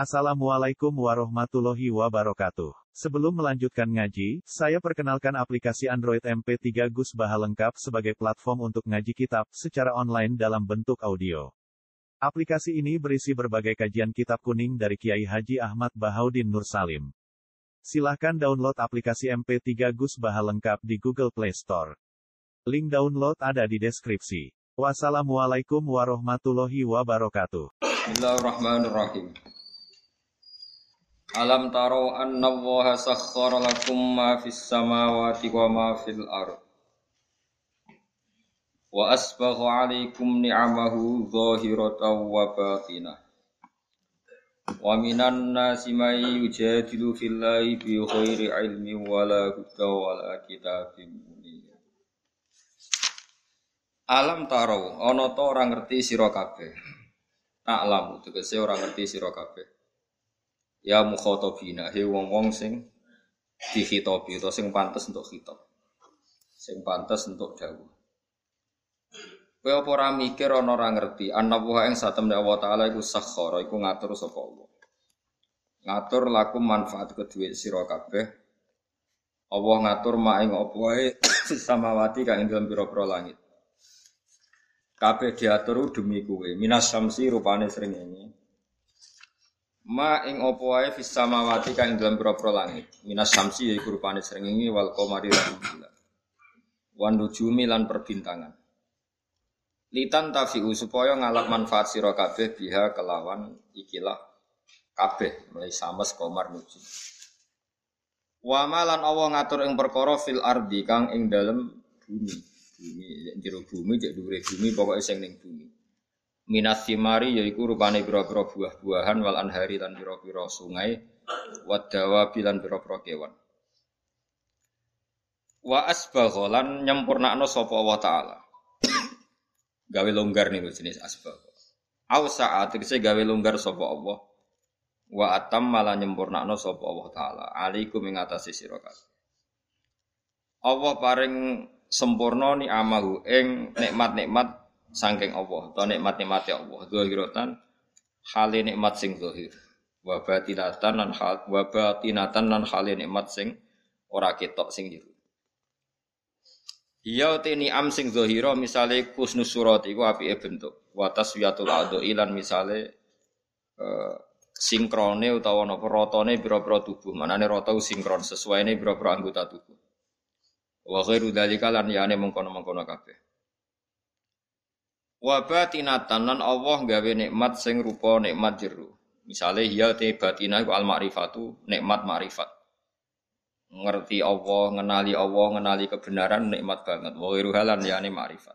Assalamualaikum warahmatullahi wabarakatuh. Sebelum melanjutkan ngaji, saya perkenalkan aplikasi Android MP3 Gus Baha lengkap sebagai platform untuk ngaji kitab secara online dalam bentuk audio. Aplikasi ini berisi berbagai kajian kitab kuning dari Kiai Haji Ahmad Bahaudin Nur Salim. Silahkan download aplikasi MP3 Gus Baha lengkap di Google Play Store. Link download ada di deskripsi. Wassalamualaikum warahmatullahi wabarakatuh. Bismillahirrahmanirrahim. Alam taro anna Allaha sakhkhara lakum ma fis samawati wa ma fil ardh. Wa asbagha 'alaikum ni'amahu zahiratan wa batinah. Wa minan nasi may yujadilu fillahi bi ghairi 'ilmin wala huda wala kitabim munir. Alam taro ana ta ora ngerti sira kabeh. Ta'lamu tegese ora ngerti sira kabeh. Ya mukhatabina he wong-wong sing dikhitabi utawa sing pantes untuk khitab. Sing pantes untuk dawuh. Kowe apa ora mikir ana ora ngerti ana wa ing satemene Allah taala iku sakhara iku ngatur sapa Allah. Ngatur lakum manfaat kedue sira kabeh. Allah ngatur mak ing apa wae samawati kang ing dalem pira-pira langit. Kabeh diatur demi kowe. Minas syamsi rupane srengenge. Ma ing apa wae fis samawati kang dalam pira-pira langit. Minas syamsi yaiku rupane srengenge wal qamari lan bulan. Wan nujumi lan perbintangan. Litan tafiu supaya ngalap manfaat sira kabeh biha kelawan ikilah kabeh mulai sames qamar nujum. Wa malan Allah ngatur ing perkara fil ardi kang ing dalem bumi. Bumi jero bumi cek dhuwure bumi pokoke sing ning bumi. Minas simari yaiku rupane pira-pira buah-buahan wal anhari lan pira-pira sungai wadawa bilan pira-pira kewan. Wa asbagha lan nyempurnakno sapa Allah taala. Gawe longgar niku jenis asbagha. Au sa'at tegese gawe longgar sapa Allah. Wa atam malah nyempurnakno sapa Allah taala. Alaikum ing atase sira kabeh. Allah paring sempurna ni amahu ing nikmat-nikmat saking Allah, atau nikmat-nikmati Allah, zahiratan hale nikmat sing zahir. Wa batinatan lan hale nikmat sing ora ketok sing jero. Iya te ni'am sing zahira misale kusnus surat iku apike bentuk. Wa taswiyatul adhi lan misale sinkrone utawa napa ratane pira-pira tubuh. Manane rata sinkron sesuaine pira-pira anggota tubuh. Wa ghairu dzalika lan yane mengkono-mengkono kabeh. Wa batinatan lan Allah gawe nikmat sing rupa nikmat jero. Misale ya te batinah iku al ma'rifatu nikmat ma'rifat. Ngerti Allah, ngenali kebenaran nikmat banget. Wa ghairu halan yani ma'rifat.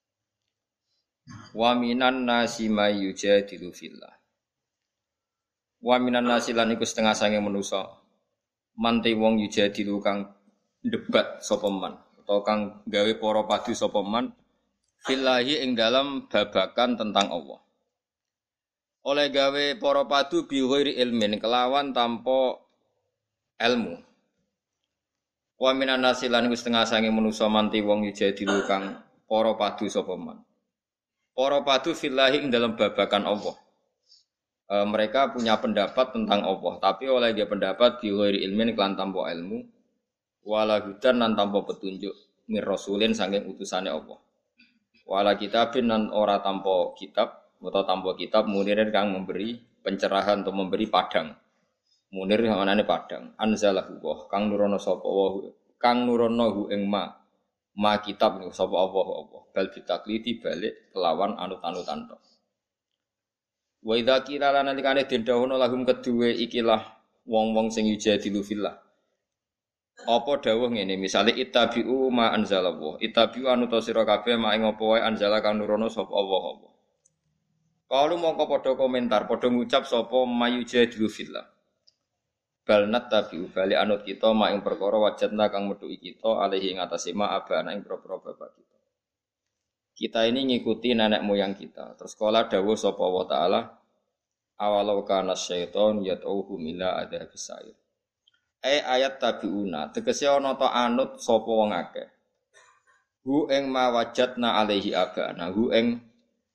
Wa minan nasi may yujadilu fillah. Wa minan nasi lan iku setengah sange manusa. Mante wong yujadilu kang debat sapa man utawa kang gawe para padu sapa man fillahi ing dalam babakan tentang Allah. Oleh gawe para padu bi ghairi ilmin kelawan tanpa ilmu. Wa minan nasi lan setengah sange manusa manti wong yujadilu kang para padu sapa man. Para padu fillahi ing dalam babakan Allah. Mereka punya pendapat tentang Allah, tapi oleh dia pendapat bi ghairi ilmin kelan tanpa ilmu, wala hudan lan tanpa petunjuk mir rasulin saking utusane Allah. Wala kitabin nan ora tanpa kitab atau tanpa kitab munirin kang memberi pencerahan atau memberi padang. Munir manane padang. Anzalahu wa kang nurono sapa wa kang nurono hu ing ma kitab niku sapa Allah. Bal bitakliti balik kelawan anut-anutan tok. Wa idza qila lana likane den dawuh lahum kedue ikilah wong-wong sing yujadilu fillah. Apa dawuh ngene misale ittabi'u ma anzalallah ittabi'u anu ta sira kabeh mak ing apa wae anzala kang nurono sapa Allah. Kalu mongko padha komentar padha ngucap sapa mayujadilu fillah. Bal nattabi'u bali anut kita mak ing perkara wajadna kang metuki kita alaihi ing atase ma abana ing propro bapak kita. Kita ini ngikuti nenek moyang kita. Terus kala dawuh sapa Allah taala awalau kana syaiton yad'uhum ila adzabis sa'ir. Ayat tabiuna tegese ana ta anut sapa wong akeh. Hu ing ma wajadna alaihi abana hu ing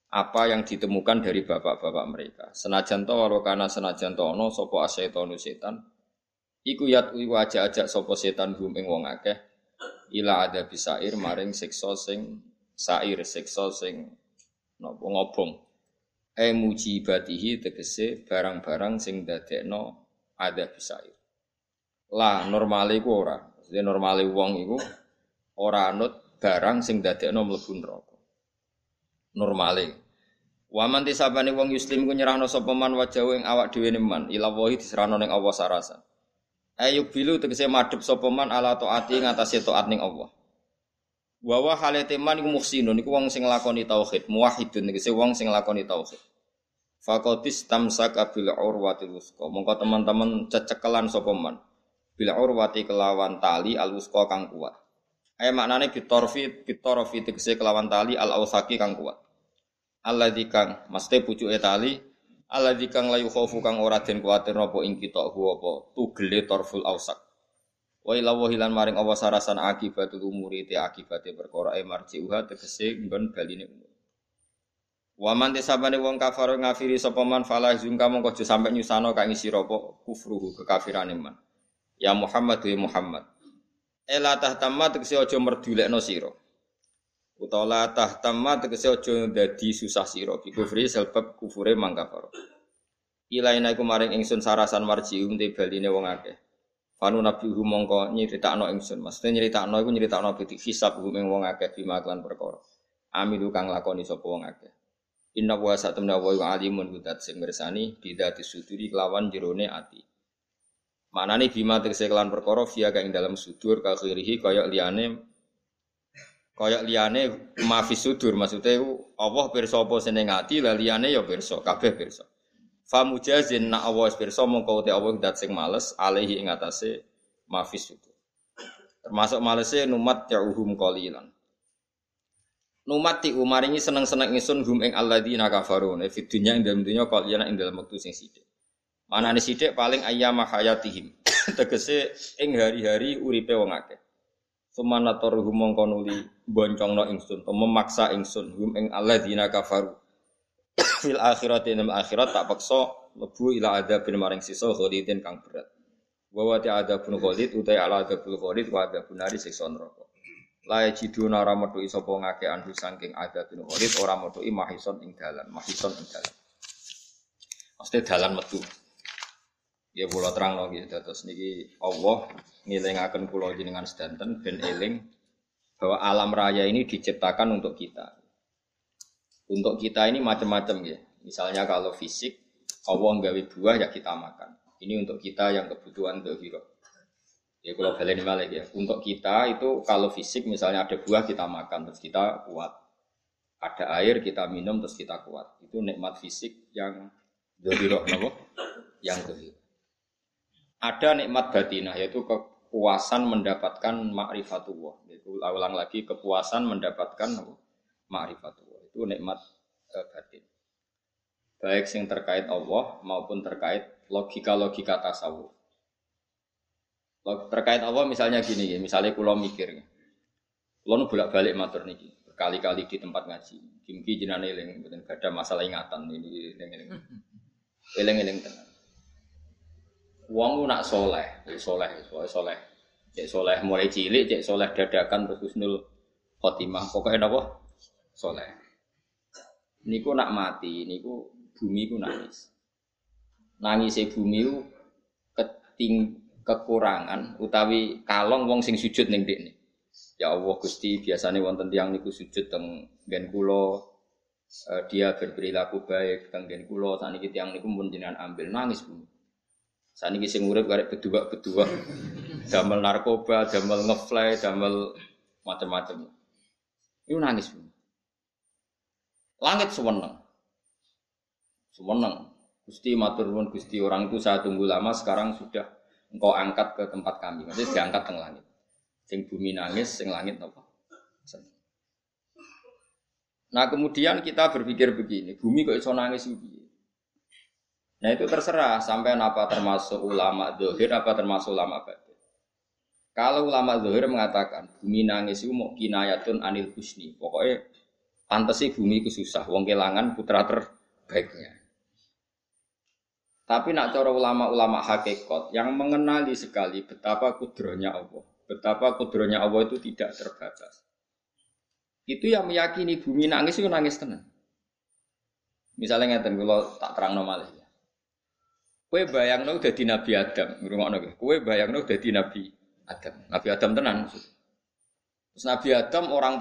apa yang ditemukan dari bapak-bapak mereka. Senajan to walau kana senajan to ana sapa asyaitonu setan iku yatwi ajak-ajak sapa setan hum ing wong akeh ila ada bisair maring siksa sing sair siksa sing napa ngobong mujibatihi tegese barang-barang sing dadekno ada bisair lah normale iku ora maksudnya normale wong iku ora anut barang sing dadekno mlebu neraka normale waman tisabane wong muslim ku nyerahno sapa man wajahu ing awak dhewe man ila wahi diserahno ning Allah sarasa ayo bilu tegese madhep sapa man ala taati ngatasé taat ning Allah wa wa halate man iku muhsinun iku wong sing nglakoni tauhid muwahhidun tegese wong sing nglakoni tauhid faqatis tamsaka bil urwatil wusqa mongko teman-teman cecekelan sapa man bil urwati kelawan tali al wusqa kang kuat maknane bitorfi tegese kelawan tali al ausaki kang kuat alladzi kang mesti pucuke tali alladzi kang layu khaufu kang ora den kuwatir napa ing kita apa tugele torful ausak wa ila wahilan maring Allah sarasan akibatul umuri te akibate perkara marjiuha tegese nggon baline umur wa man tisabane wong kafir ngafiri sapa man falah zungka mongko aja sampe nyusano kang isi apa kufruhu kekafirane man ya Muhammad wa Muhammad ela tahtamma tegese aja merdulekno sira utawa tahtamma tegese aja dadi susah sira bi kufri sebab kufure mangkafaro ilaina iku maring ingsun sarasan marjium te baline wong akeh fanu nabi mongko nyritakno ingsun maksudnya nyritakno iku nyritakno biti hisab ing wong akeh bima lan perkara amilu kang lakoni sapa wong akeh inna wa satamna wa alimun gudat sing mirsani bidati suduri kelawan jerone ati manane bima tegese kelan perkara via kang dalam sudur ka khirihi kaya liyane mafis sudur maksudnya Allah pirsa apa sing ning ati la liyane ya pirsa kabeh pirsa fa mujazin na Allah pirsa mongko te Allah dat sing males alaihi ing atase mafis sudur termasuk malese numat ya'uhum qalilan numat ti umaringi seneng-seneng ingsun hum ing alladzina kafaru fi dunya ing dalem dunya qalilan ing dalem wektu sing sithik manane sithik paling ayyama hayatihim tegese ing hari-hari uripe wong akeh sumanator hum mongko nuli boncongno ingsun memaksa ingsun hum ing alladzina kafaru fil akhirati ing akhirat tak paksa mlebu ila adzabin maring sisa khalidin kang berat wa wa ta'adzabun khalid utai ala adzabul khalid wa adzabun nari siksa neraka la yajiduna ora metuki sapa ngake anhu saking adzabun khalid ora metuki mahison ing dalan mesti dalan metu ya kula terangno nggih dados niki Allah ngelingaken kula jenengan sedanten ben eling bahwa alam raya ini diciptakan untuk kita. Untuk kita ini macam-macam ya. Misalnya kalau fisik Allah nggawe buah ya kita makan. Ini untuk kita yang kebutuhan dzahira. Ya kalau baleni malih ya. Untuk kita itu kalau fisik misalnya ada buah kita makan terus kita kuat. Ada air kita minum terus kita kuat. Itu nikmat fisik yang dzahira napa? Yang dzahira. Ada nikmat batinah yaitu kepuasan mendapatkan ma'rifatullah. Itu ulang lagi kepuasan mendapatkan ma'rifatullah. Itu nikmat batin. Baik yang terkait Allah maupun terkait logika-logika tasawuf. Terkait Allah misalnya gini ya, misalnya kula mikir. Kula nu bolak-balik matur niki, berkali-kali di tempat ngaji. Kimki jenane eling mboten gadah masalah ingatan ini eling-eling. Eling-eling tenan. Wong nak soleh. Cek soleh mulai cilik, cek soleh dadakan terus husnul khotimah. Pokoknya napa? Soleh. Niku nak mati, niku bumi ku nangis. Nangise bumi ku kekurangan utawi kalong wong sing sujud ning ndekne. Ya Allah Gusti, biasane wonten tiyang niku sujud teng nggen kula dia berperilaku baik teng nggen kula saniki tiyang niku mun jenengan ambil nangis bumi. Saniki sing urip karek bedua-bedua. Damel narkoba, damel ngefly, damel macam-macam. Iku nangis. Langit seweneng. Gusti matur nuwun Gusti, orang itu saya tunggu lama sekarang sudah engkau angkat ke tempat kami. Maksudnya diangkat teng langit. Sing bumi nangis, sing langit napa? Nah, kemudian kita berpikir begini, bumi kok iso nangis iki? Nah itu terserah sampai apa termasuk ulama zahir apa termasuk ulama batin. Kalau ulama zahir mengatakan bumi nangis itu mau kinayatun anil husni. Pokoknya Pantes sih bumi itu susah, wong kelangan putra terbaiknya. Tapi nak cara ulama-ulama hakikat yang mengenali sekali betapa kudrohnya Allah, betapa kudrohnya Allah itu tidak terbatas. Itu yang meyakini bumi nangis itu nangis tenang. Misalnya ngeten kalau tak terang normal ya. Kue bayangno dadi Nabi Adam, ngrungokno kowe. Kue bayangno dadi Nabi Adam. Nabi Adam tenan maksud. Terus Nabi Adam orang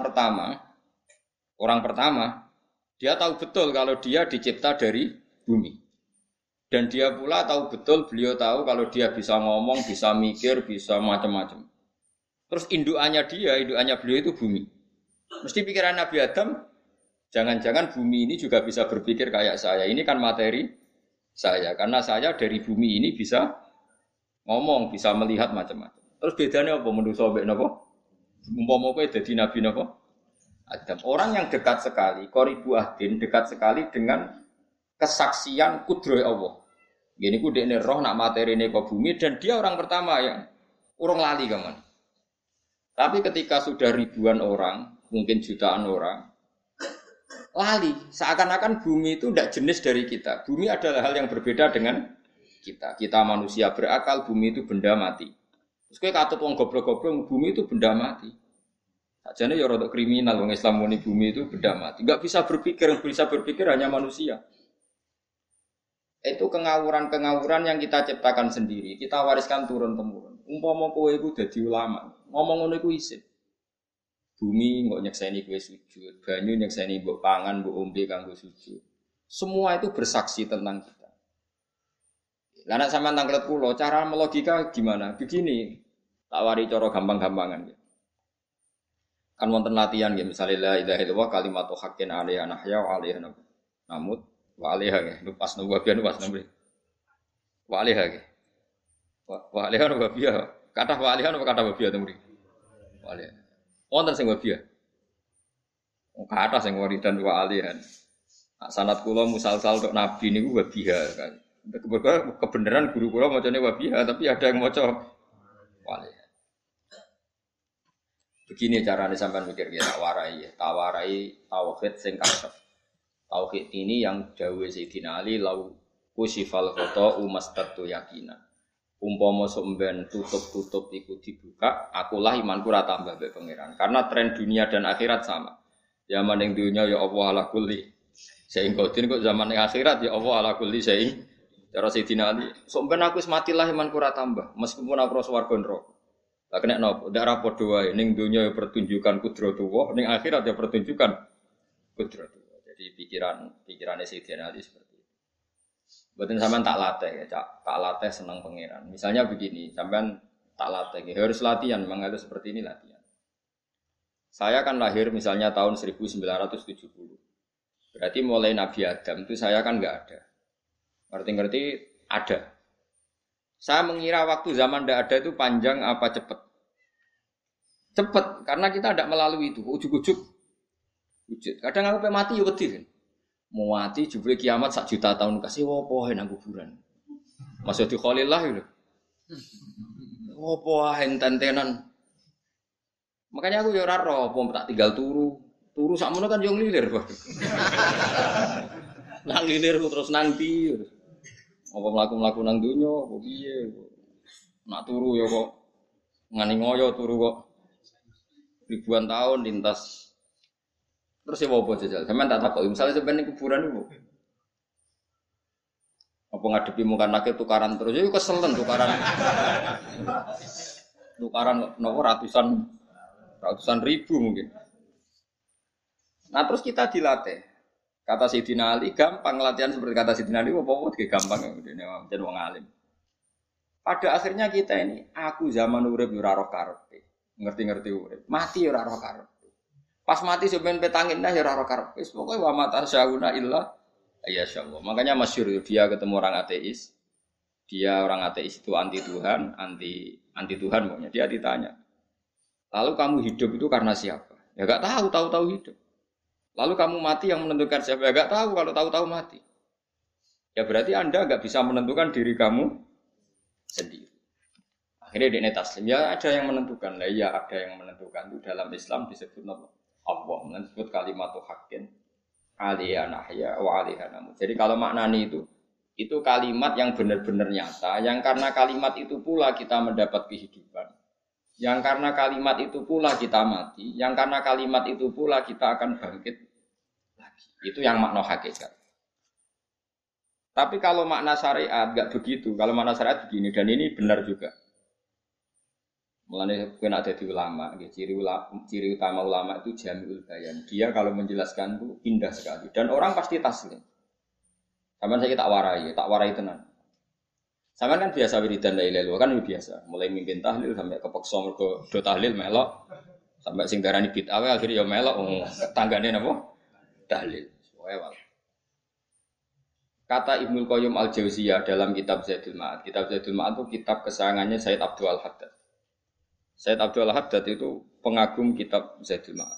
pertama dia tahu betul kalau dia dicipta dari bumi. Dan dia pula tahu betul, beliau tahu kalau dia bisa ngomong, bisa mikir, bisa macam-macam. Terus indukannya beliau itu bumi. Mesti pikiran Nabi Adam, jangan-jangan bumi ini juga bisa berpikir kayak saya. Ini kan materi saya, karena saya dari bumi ini bisa ngomong, bisa melihat macam-macam. Terus bedanya apa menurut sobat napa? Umpama kowe dadi Nabi napa? Adam. Orang yang dekat sekali, qoribu ahdin, dekat sekali dengan kesaksian kudroh Allah. Gini ku dekne roh nak materine ke bumi dan dia orang pertama yang urung lali kaman. Tapi ketika sudah ribuan orang, mungkin jutaan orang, lali. Seakan-akan bumi itu tidak jenis dari kita. Bumi adalah hal yang berbeda dengan kita. Kita manusia berakal, bumi itu benda mati. Terus kowe katut wong goblok-goblok, bumi itu benda mati. Sajane ya rada kriminal wong Islam muni bumi itu benda mati. Enggak bisa berpikir, yang bisa berpikir hanya manusia. Itu kengawuran-kengawuran yang kita ciptakan sendiri, kita wariskan turun-temurun. Umpama kowe iku dadi ulama, ngomong ngono iku isin. Bumi kok nyekseni kowe sujud, banyu nyekseni mbok pangan, mbok ombe kanggo sujud. Semua itu bersaksi tentang kita. Lah nek sampean tanglet kula, cara melogika gimana? Begini, tak wari cara gampang-gampangan ya. Kan wonten latihan ya, misalnya la ilaha illallah kalimatu haqqin 'alaiha nahya wa 'alaiha namut. Wa alaiha ge, pas nunggu biyen pas nunggu. Wa alaiha ge. Wa alaiha no babia. Kata wa alaiha no kata babia to mriki. Wa alaiha. Wonten sing babia. Kata sing waridan wa alaiha. Sanad kula musalsal tok nabi niku babia kan. Kebenaran guru kula macane babia tapi ada yang maca wa alaiha. Begini carane sampean mikir ya tak warai tauhid sing kasep. Tauhid ini yang dawuh Sayyidina Ali lau kusifal khata umastatu yakinan. Umpama somben tutup-tutup iku dibuka, akulah imanku ora tambah mbek pangeran. Karena tren dunia dan akhirat sama. Zaman ning dunia ya Allah ala kulli saing kodin kok zaman ning akhirat ya Allah ala kulli saing. Cara Sayyidina Ali, somben aku wis matilah imanku ora tambah, meskipun aku ora swarga neraka. Lah kena napa? Ndak ra padha wae ning dunia ya pertunjukan kudratullah, ning akhirat ya pertunjukan kudratullah. Jadi pikirannya Sayyidina Ali seperti itu. Mboten sampean tak latih ya, tak latih senang pangeran. Misalnya begini, sampean tak latih ya, harus latihan, memang harus seperti ini latihan. Saya kan lahir misalnya tahun 1970. Berarti mulai Nabi Adam itu saya kan enggak ada. Ngerti-ngerti ada. Saya mengira waktu zaman tidak ada itu panjang apa cepat? Cepat, karena kita tidak melalui itu, ujuk-ujuk. Wujud. Kadang aku pengen mati ya wedi kan. Mau mati jebule kiamat 1 juta tahun kasih opo nang kuburan. Masuk di Khalillah lho. Opo enten-tenan. Makanya aku ya ora ro, opo tak tinggal turu. Turu sakmono kan yo nglilir, Pak. Nang nglilir terus nang ndi. Apa mlaku-mlaku nang donya, apa piye. Nak turu ya kok ngani ngoyo turu kok ribuan tahun lintas. Terus ya apa jajal? Sampeyan tak takoki, misale sampeyan ning kuburan niku. Apa ngadepi muka nakil tukaran terus ya keselen tukaran. Tukaran nopo ratusan ribu mungkin. Nah, terus kita dilatih. Kata Sayyidina Ali gampang latihan seperti kata Sayyidina Ali apa-apa gampang ngene jan wong alim. Pada akhirnya kita ini aku zaman urip ora roh karepe. Ngerti-ngerti urip. Mati ora roh karepe. Pas mati sampean petangin dah ya ora karepe. Wis pokoke wa mata syauna illa ya insyaallah. Makanya masyhur dia ketemu orang ateis. Dia orang ateis itu anti Tuhan, anti Tuhan pokoknya. Dia ditanya. Lalu kamu hidup itu karena siapa? Ya enggak tahu hidup. Lalu kamu mati yang menentukan siapa? Ya enggak tahu kalau tahu-tahu mati. Ya berarti Anda enggak bisa menentukan diri kamu sendiri. Akhirnya dia taslim. Ya ada yang menentukan. Lah ya ada yang menentukan itu dalam Islam disebut apa? Allah disebut kalimatu haqqin 'alaiha nahya wa 'alaiha namut. Jadi kalau maknani itu kalimat yang benar-benar nyata, yang karena kalimat itu pula kita mendapat kehidupan. Yang karena kalimat itu pula kita mati, yang karena kalimat itu pula kita akan bangkit lagi. Itu yang makna hakikat. Tapi kalau makna syariat enggak begitu. Kalau makna syariat begini, dan ini benar juga. Mulane kowe nek dadi ulama, ciri utama ulama itu jami'ul bayan. Dia kalau menjelaskan itu indah sekali dan orang pasti taslim. Sampeyan saya tak warai tenan. Sampeyan kan biasa wiridan la ilaha illallah kan biasa, mulai mimpin tahlil sampai kepeksa mergo do tahlil melok, sampai sing darani bid'ah akhirnya ya melok tanggane napa? Tahlil. Wae. Kata Ibnu Qayyim Al-Jauziyah dalam kitab Zadul Ma'ad. Kitab Zadul Ma'ad itu kitab kesayangannya Sayyid Abdul Al-Haddad. Sayyid Abdul Al-Haddad itu pengagum kitab Zadul Ma'ad.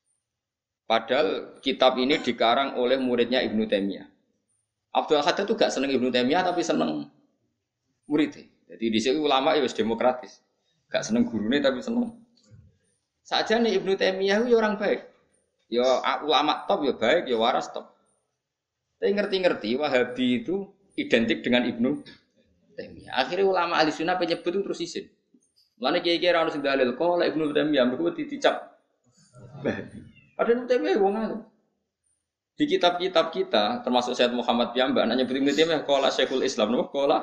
Padahal kitab ini dikarang oleh muridnya Ibnu Taimiyah. Abdul Al-Haddad itu gak seneng Ibnu Taimiyah tapi seneng muridnya. Jadi di sini ulama ya demokratis. Gak seneng gurune tapi seneng. Saja nih Ibnu Taimiyah itu orang baik. Ya ulama top ya baik, ya waras top. Tapi ngerti-ngerti Wahabi itu identik dengan Ibnu Taimiyah. Akhirnya ulama ahli sunnah penyebut itu terus izin. Mulane kiai-kiai ra ono sing dalil kok lek Ibnu Taimiyah mergo dicap. Padahal Ibnu Taimiyah wong alim. Di kitab-kitab kita termasuk Sayyid Muhammad piyambak anaknya Ibnu Taimiyah qala Syekhul Islam napa qala.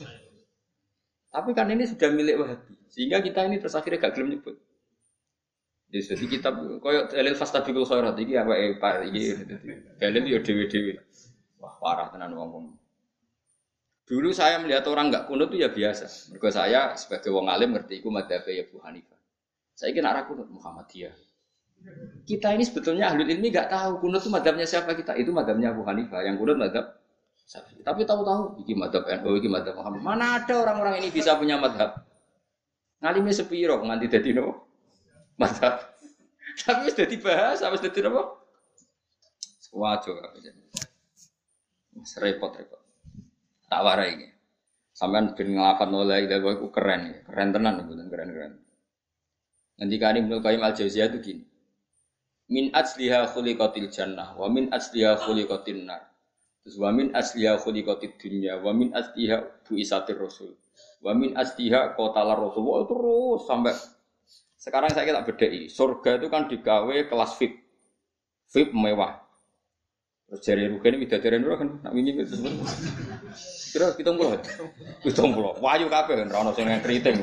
Tapi kan ini sudah milik Wahabi. Sehingga kita ini terus akhirnya gak gelem nyebut. Jadi kitab koyo dalil fastabiqul khairat iki awake Pak iki dalil yo dhewe-dhewe. Wah, parah tenan wong-wong. Dulu saya melihat orang enggak kunut itu ya biasa. Mergo saya sebagai wong alim ngerti iku madzhab Abu Hanifah. Saiki nek ra kunut Muhammadiyah. Kita ini sebetulnya ahlul ilmi enggak tahu kunut itu madzhabnya siapa kita. Itu madzhabnya Abu Hanifah, yang kunut madzhab Syafi'i. Tapi tahu-tahu iki madzhab NU, iki madzhab Muhammad. Mana ada orang-orang ini bisa punya madzhab? Ngalime sepiro nganti dadi nopo? Madzhab. Tapi wis dadi bahasa, wis dadi nopo? Wajo kabeh. Mas repot-repot. Tak warai iki. Sampeyan ben nglafadzno la ilaha illallah iku keren ya. Keren tenan mboten keren-keren. Ngendikane Ibnu Qayyim Al-Jauziyah itu gini. Min asliha khuliqatil jannah wa min asliha khuliqatin nar. Terus wa min asliha khuliqatid dunya wa min asliha buisatir rasul. Wa min asliha qatalar rasul. Oh, terus sampai sekarang saya tak bedai. Surga itu kan digawe kelas VIP. VIP mewah. Terus jari rugen widadari ora kan nak wingi itu. Kira 70. 70. Wayu kabeh kan ora ono sing kriting.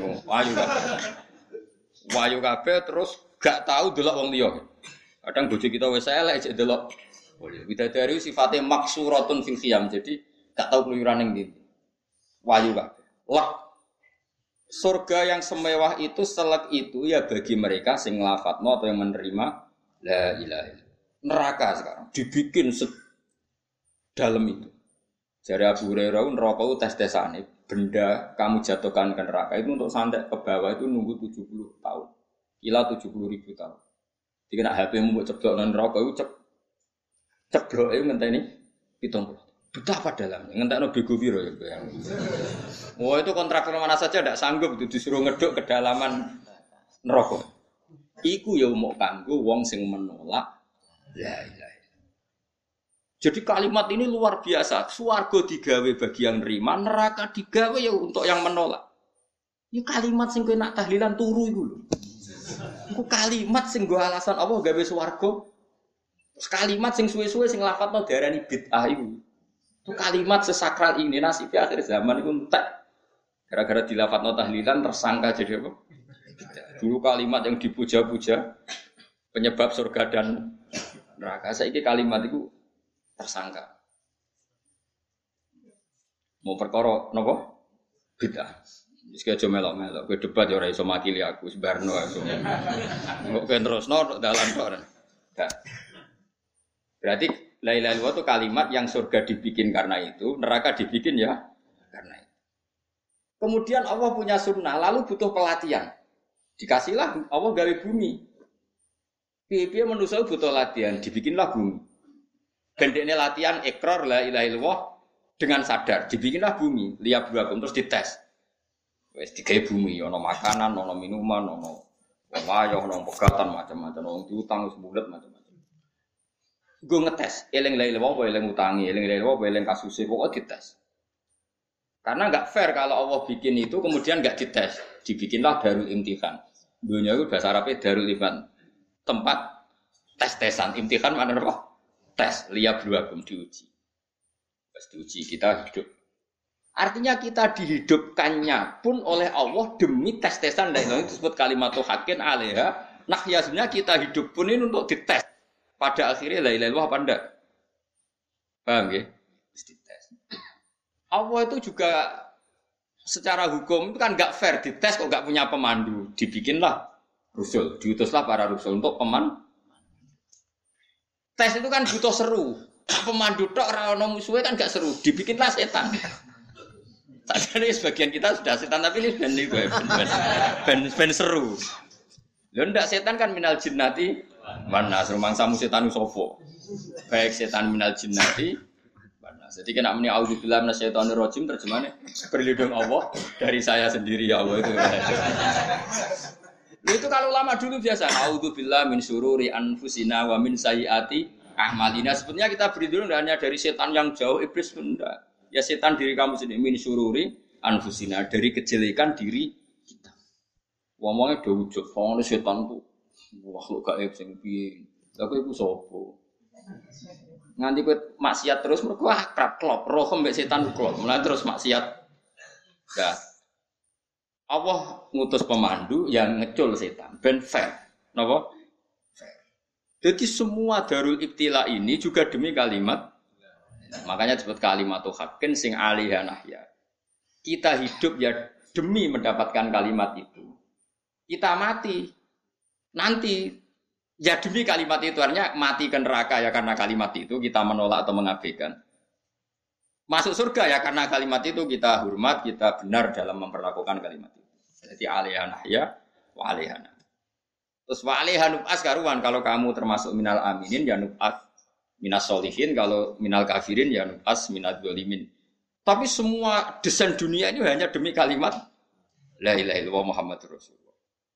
Wayu kabeh terus gak tahu delok wong liya. Kadang bojo kita wis elek jek delok. Widadari sifatnya maksuratun fil khiyam. Jadi gak tahu keluyuran ning ndi. Wayu kabeh. Lah surga yang semewah itu selek itu ya bagi mereka sing nglafadzno atau yang menerima la ilaha illallah. Neraka sekarang dibikin dalam itu. Jari Abu Hurairah neraka itu tes-tesane benda kamu jatuhkan ke neraka itu untuk santet ke bawah itu nunggu 70 tahun. Ila 70.000 tahun. Jadi nek HP mu mbok ceblok nang neraka itu ceblok itu ngenteni 70. Betapa dalamnya, ngentekno bego piro ya bayang. Wah itu kontraktor mana saja tidak sanggup itu disuruh ngeduk kedalaman neraka. Iku ya mau kanggo wong sing menolak la ilaha. Jadi kalimat ini luar biasa. Swarga digawe bagi yang nerima, neraka digawe ya untuk yang menolak. Ini kalimat sing kowe nak tahlilan turu iku lho. Iku kalimat sing go alasan Allah gawe swarga. Terus kalimat sing suwe-suwe sing lafadzno diarani bid'ah iku. Itu kalimat sesakral ini nasibnya akhir zaman itu entek. Gara-gara dilafadzno tahlilan tersangka jadi apa? Dulu kalimat yang dipuja-puja penyebab surga dan neraka. Saiki kalimat itu tersangka. Mau perkara napa? Bid'ah. Wis aja melok-melok, kowe debat ya ora iso makili aku sebarno aku. Kok terusno dalan kok. Berarti la ilaha illallah itu kalimat yang surga dibikin karena itu, neraka dibikin ya karena itu. Kemudian Allah punya sunnah, lalu butuh pelatihan. Dikasihlah Allah gawe bumi. Piye-piye manusia butuh latihan, dibikinlah bumi. Gendekne latihan ikrar la ilaha illallah dengan sadar, dibikinlah bumi, liab buakum terus dites. Wis digawe bumi, ana makanan, ana minuman, ana Wong ayo nang pegatan macam-macam, wong diutang sebulet macam-macam. Gue ngetes, eling-eling apa eling utangi, eling-eling apa eling kasusé, pokoknya dites. Karena nggak fair kalau Allah bikin itu kemudian nggak dites, dibikinlah darul imtihan. Dunia itu bahasa Arabnya darul imtihan, tempat tes-tesan. Imtihan mana apa? Tes, liyabluwakum, diuji. Pas diuji kita hidup. Artinya kita dihidupkannya pun oleh Allah demi tes-tesan. Dan itu disebut kalimatul haqqin alaiha. Nah ya sebenarnya kita hidup pun ini untuk dites. Pada akhirnya la ilaha illallah apa enggak? Paham ya? Dites. Allah itu juga secara hukum itu kan enggak fair, dites kok enggak punya pemandu. Dibikinlah rusul, diutuslah para rusul untuk pemandu. Tes itu kan butuh seru. Pemandu tok ora ono musuhe kan enggak seru. Dibikinlah setan. Tadi sebagian kita sudah setan tapi ini ben seru. Lho ndak setan kan minal jinnati mana rumangsamu setan sapa. Baik setan minal jinnati mana. Jadi kena muni auzubillahi minasyaitonir rajim terjemahnya berlindung Allah dari saya sendiri ya Allah itu. Itu kalau lama dulu biasa auzubillahi min syururi anfusina wa min sayyiati a'malina. Sebenarnya kita berlindung hanya dari setan yang jauh, iblis enggak. Ya setan diri kamu sendiri min syururi anfusina, dari kejelekan diri kita. Ngomongnya do wujud, wong setan tuh makhluk gaib sing piye. Lha kowe iku sapa? Nganti kowe maksiat terus mergo akrab klop, roh mbek setan klop. Mulai terus maksiat. Nah. Allah ngutus pemandu yang ngecul setan, ben fair. Napa? Fair. Jadi semua darul ibtila ini juga demi kalimat. Makanya disebut kalimatul haqqin sing alaiha nahya. Kita hidup ya demi mendapatkan kalimat itu. Kita mati nanti ya demi kalimat itu, artinya mati ke neraka ya karena kalimat itu kita menolak atau mengabaikan. Masuk surga ya karena kalimat itu kita hormat, kita benar dalam memperlakukan kalimat itu. Jadi alaiha nahya wa alaiha. Terus wa alaiha nub'as karuan, kalau kamu termasuk minal aminin ya nub'as minas solihin, kalau minal kafirin ya nub'as minad dzalimin. Tapi semua desain dunia ini hanya demi kalimat la ilaha illallah Muhammadur Rasulullah.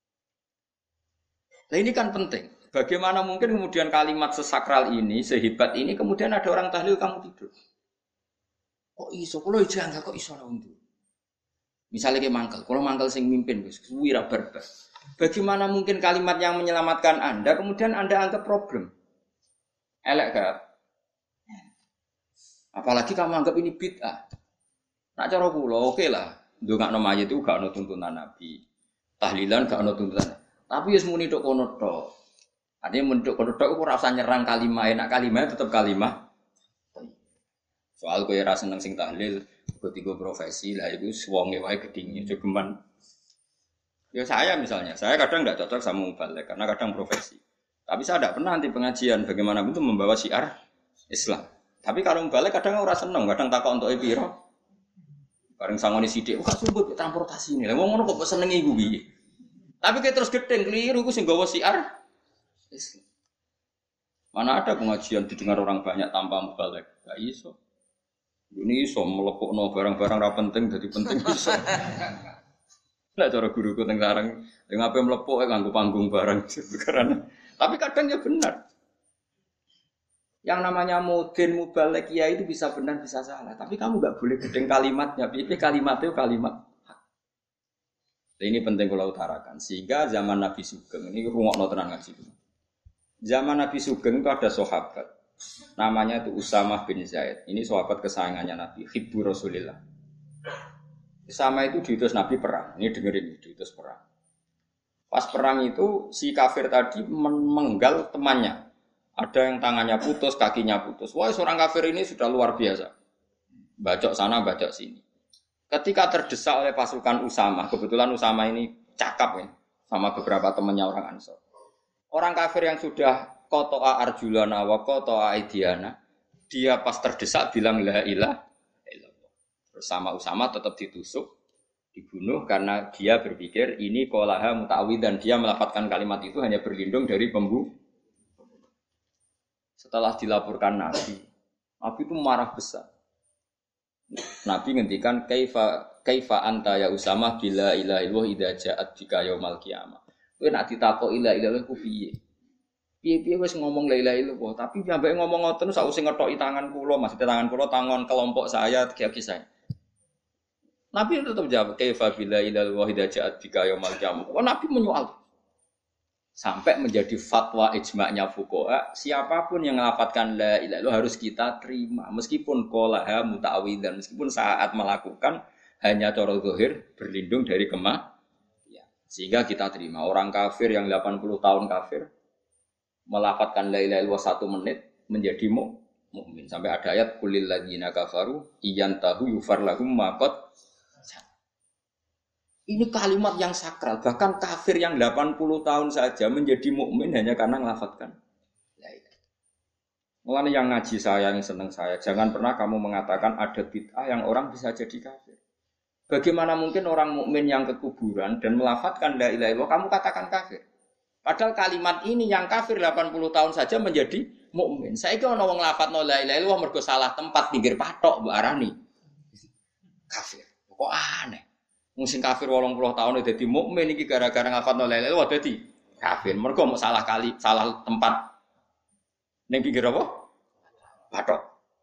Nah ini kan penting. Bagaimana mungkin kemudian kalimat sesakral ini, sehebat ini, kemudian ada orang tahlil kamu tidur. Kok iso? Kalau aja enggak kok iso lah untuk. Misalnya kayak mangkel, kalau mangkel sing mimpin, wira barbar. Bagaimana mungkin kalimat yang menyelamatkan Anda, kemudian Anda anggap problem? Elek gak? Apalagi kamu anggap ini bid'ah. Nak cara kula oke lah. Ndongakno mayit itu gak ono tuntunan Nabi. Tahlilan gak ono tuntunan. Tapi wis muni tok kono tok. Artinya muni tok kono tok ora usah nyerang kalimah, enak kalimah tetap kalimah. Soal kowe ora seneng sing tahlil, ketiga profesi lah itu wonge wae gedhinge jogeman. Ya saya misalnya, saya kadang enggak cocok sama mubalik karena kadang profesi. Tapi saya tidak pernah anti pengajian bagaimana itu membawa syiar Islam. Tapi kalau balik kadang ora seneng, kadang takok untuk piro. Bareng sangone sithik, kok sumbut transportasi ini. Lah wong ngono kok seneng iku piye? Tapi kayak terus gedeng keliru iku sing gawa syiar Islam. Mana ada pengajian didengar orang banyak tanpa mubalik? Enggak iso. Ini iso melepokno barang-barang ra penting dadi penting iso. Lah cara guruku teng sareng, yang apa melepok nganggo panggung barang karena tapi kadang ya benar. Yang namanya mudin mubalek ya itu bisa benar bisa salah. Tapi kamu nggak boleh gedeng kalimatnya. Piye kalimatnya kalimat. Nah, ini penting kalau utarakan. Sehingga zaman Nabi Sugeng ini rungokno tenan ngaji. Zaman Nabi Sugeng itu ada sahabat. Namanya itu Usamah bin Zaid. Ini sahabat kesayangannya Nabi. Hibbu Rasulillah. Usama itu diutus Nabi perang. Ini dengerin diutus perang. Pas perang itu si kafir tadi menggal temannya. Ada yang tangannya putus, kakinya putus. Wah, seorang kafir ini sudah luar biasa. Bacok sana, bacok sini. Ketika terdesak oleh pasukan Usama, kebetulan Usama ini cakap ya, sama beberapa temannya orang Ansor. Orang kafir yang sudah koto'a arjulana wa koto'a aidiana, dia pas terdesak bilang la ilaha illallah. Terus sama Usama tetap ditusuk, dibunuh karena dia berpikir ini qolaha muta'awid dan dia melafadzkan kalimat itu hanya berlindung dari pembunuh. Setelah dilaporkan Nabi itu marah besar. Nabi ngendikan kaifa anta ya Usamah bila ilaha illallah idza ja'at bika yaumal qiyamah. Kowe nak ditakoki la ilaha illallah ku piye? Piye-piye wis ngomong la ilaha illallah, tapi sampai ngomong ngoten sausé ngethoki tangan kula, maksudnya tangan kula tangan kelompok saya, kiai saya. Nabi tetap jawab, kaifa bila ilal wahida ja'at bika yaumal qiyamah. Oh, Nabi menyoal. Sampai menjadi fatwa ijma'nya fuqaha, siapapun yang melafatkan la ilaha illallah harus kita terima meskipun qolaha muta'awwidzan, meskipun saat melakukan hanya cara zahir berlindung dari ya. Sehingga kita terima. Orang kafir yang 80 tahun kafir melafatkan la ilaha illallah 1 menit menjadi mukmin. Sampai ada ayat kulil ladzina kafaru iyantahu yufar lahum ma qad. Ini kalimat yang sakral, bahkan kafir yang 80 tahun saja menjadi mukmin hanya karena melafatkan la ilaha. Mulane yang ngaji saya, yang senang saya, jangan pernah kamu mengatakan ada bid'ah yang orang bisa jadi kafir. Bagaimana mungkin orang mukmin yang ke kuburan dan melafatkan la ilaha illallah kamu katakan kafir? Padahal kalimat ini yang kafir 80 tahun saja menjadi mukmin. Saiki ana wong nglafadzno la ilaha illallah mergo salah tempat pinggir patok mbok arani kafir. Kok aneh. Musim kafir 80 tahun dadi mukmin iki gara-gara nglafadzno la ilaha illallah dadi kafir. Mergo mau salah tempat ning pinggir apa? Patok.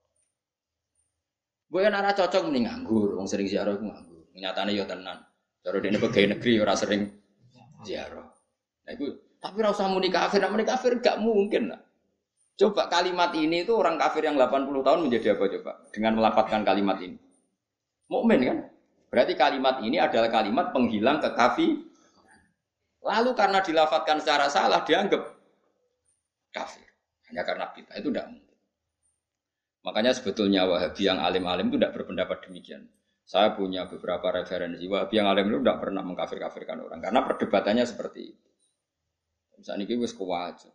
Gue ora cocok mending nganggur, wong sering ziarah ku nganggur. Nyatane ya tenan. Cara dene pegawai negeri ora sering ziarah. Nah iku tapi ora usah muni kafir, nek muni kafir gak mungkin lah. Coba kalimat ini itu orang kafir yang 80 tahun menjadi apa coba? Dengan melafadzkan kalimat ini. Mukmin kan? Berarti kalimat ini adalah kalimat penghilang kekafir. Lalu karena dilafadzkan secara salah dianggap kafir. Hanya karena bid'ah itu tidak mungkin. Makanya sebetulnya Wahabi yang alim-alim itu tidak berpendapat demikian. Saya punya beberapa referensi Wahabi yang alim itu tidak pernah mengkafir-kafirkan orang. Karena perdebatannya seperti itu. Misalnya ini wis kuwaja.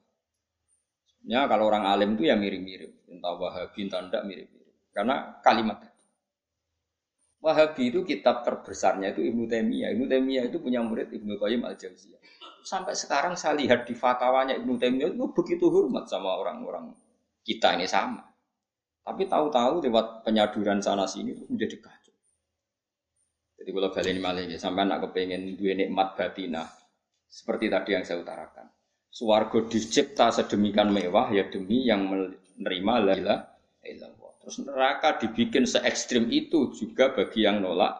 Ya kalau orang alim itu ya mirip-mirip. Entah Wahabi, entah tidak mirip-mirip. Karena kalimat tadi. Wahabi itu kitab terbesarnya itu Ibnu Taimiyah. Ibnu Taimiyah itu punya murid Ibnu Qayyim Al-Jauziyah. Sampai sekarang saya lihat di fatwanya Ibnu Taimiyah itu begitu hormat sama orang-orang kita ini sama. Tapi tahu-tahu lewat penyaduran sana sini itu menjadi kacau. Jadi kalau balik ini sampai nak kepengen dua nikmat batinah seperti tadi yang saya utarakan. Swarga dicipta sedemikian mewah ya demi yang menerima la ilaha illallah. Terus neraka dibikin se-ekstrim itu juga bagi yang nolak.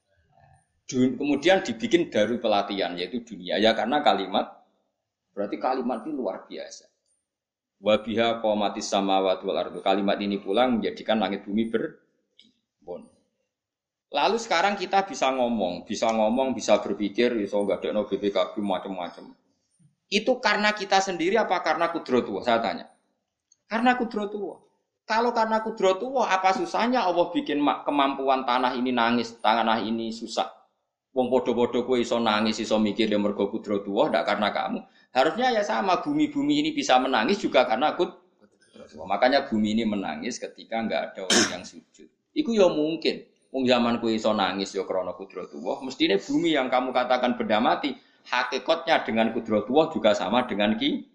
Kemudian dibikin dari pelatihan yaitu dunia. Ya karena kalimat berarti kalimat ini luar biasa. Wa biha qamatis samawati wal ardu. Kalimat ini pula menjadikan langit bumi berbon. Lalu sekarang kita bisa ngomong, bisa berpikir, bisa ngadekno BPKB macam-macam. Itu karena kita sendiri apa karena kudratullah? Saya tanya. Karena kudratullah. Kalau karena kudratullah, apa susahnya Allah bikin kemampuan tanah ini nangis, tanah ini susah. Wong podo-podo kowe iso nangis, iso mikir mergo kudratullah, ndak karena kamu. Harusnya ya sama, bumi-bumi ini bisa menangis juga karena kudratullah. Makanya bumi ini menangis ketika enggak ada orang yang sujud. Iku ya mungkin. Wong zaman kowe iso nangis ya krana kudratullah, mestine bumi yang kamu katakan benda mati, hakikatnya dengan kudratullah juga sama dengan kita.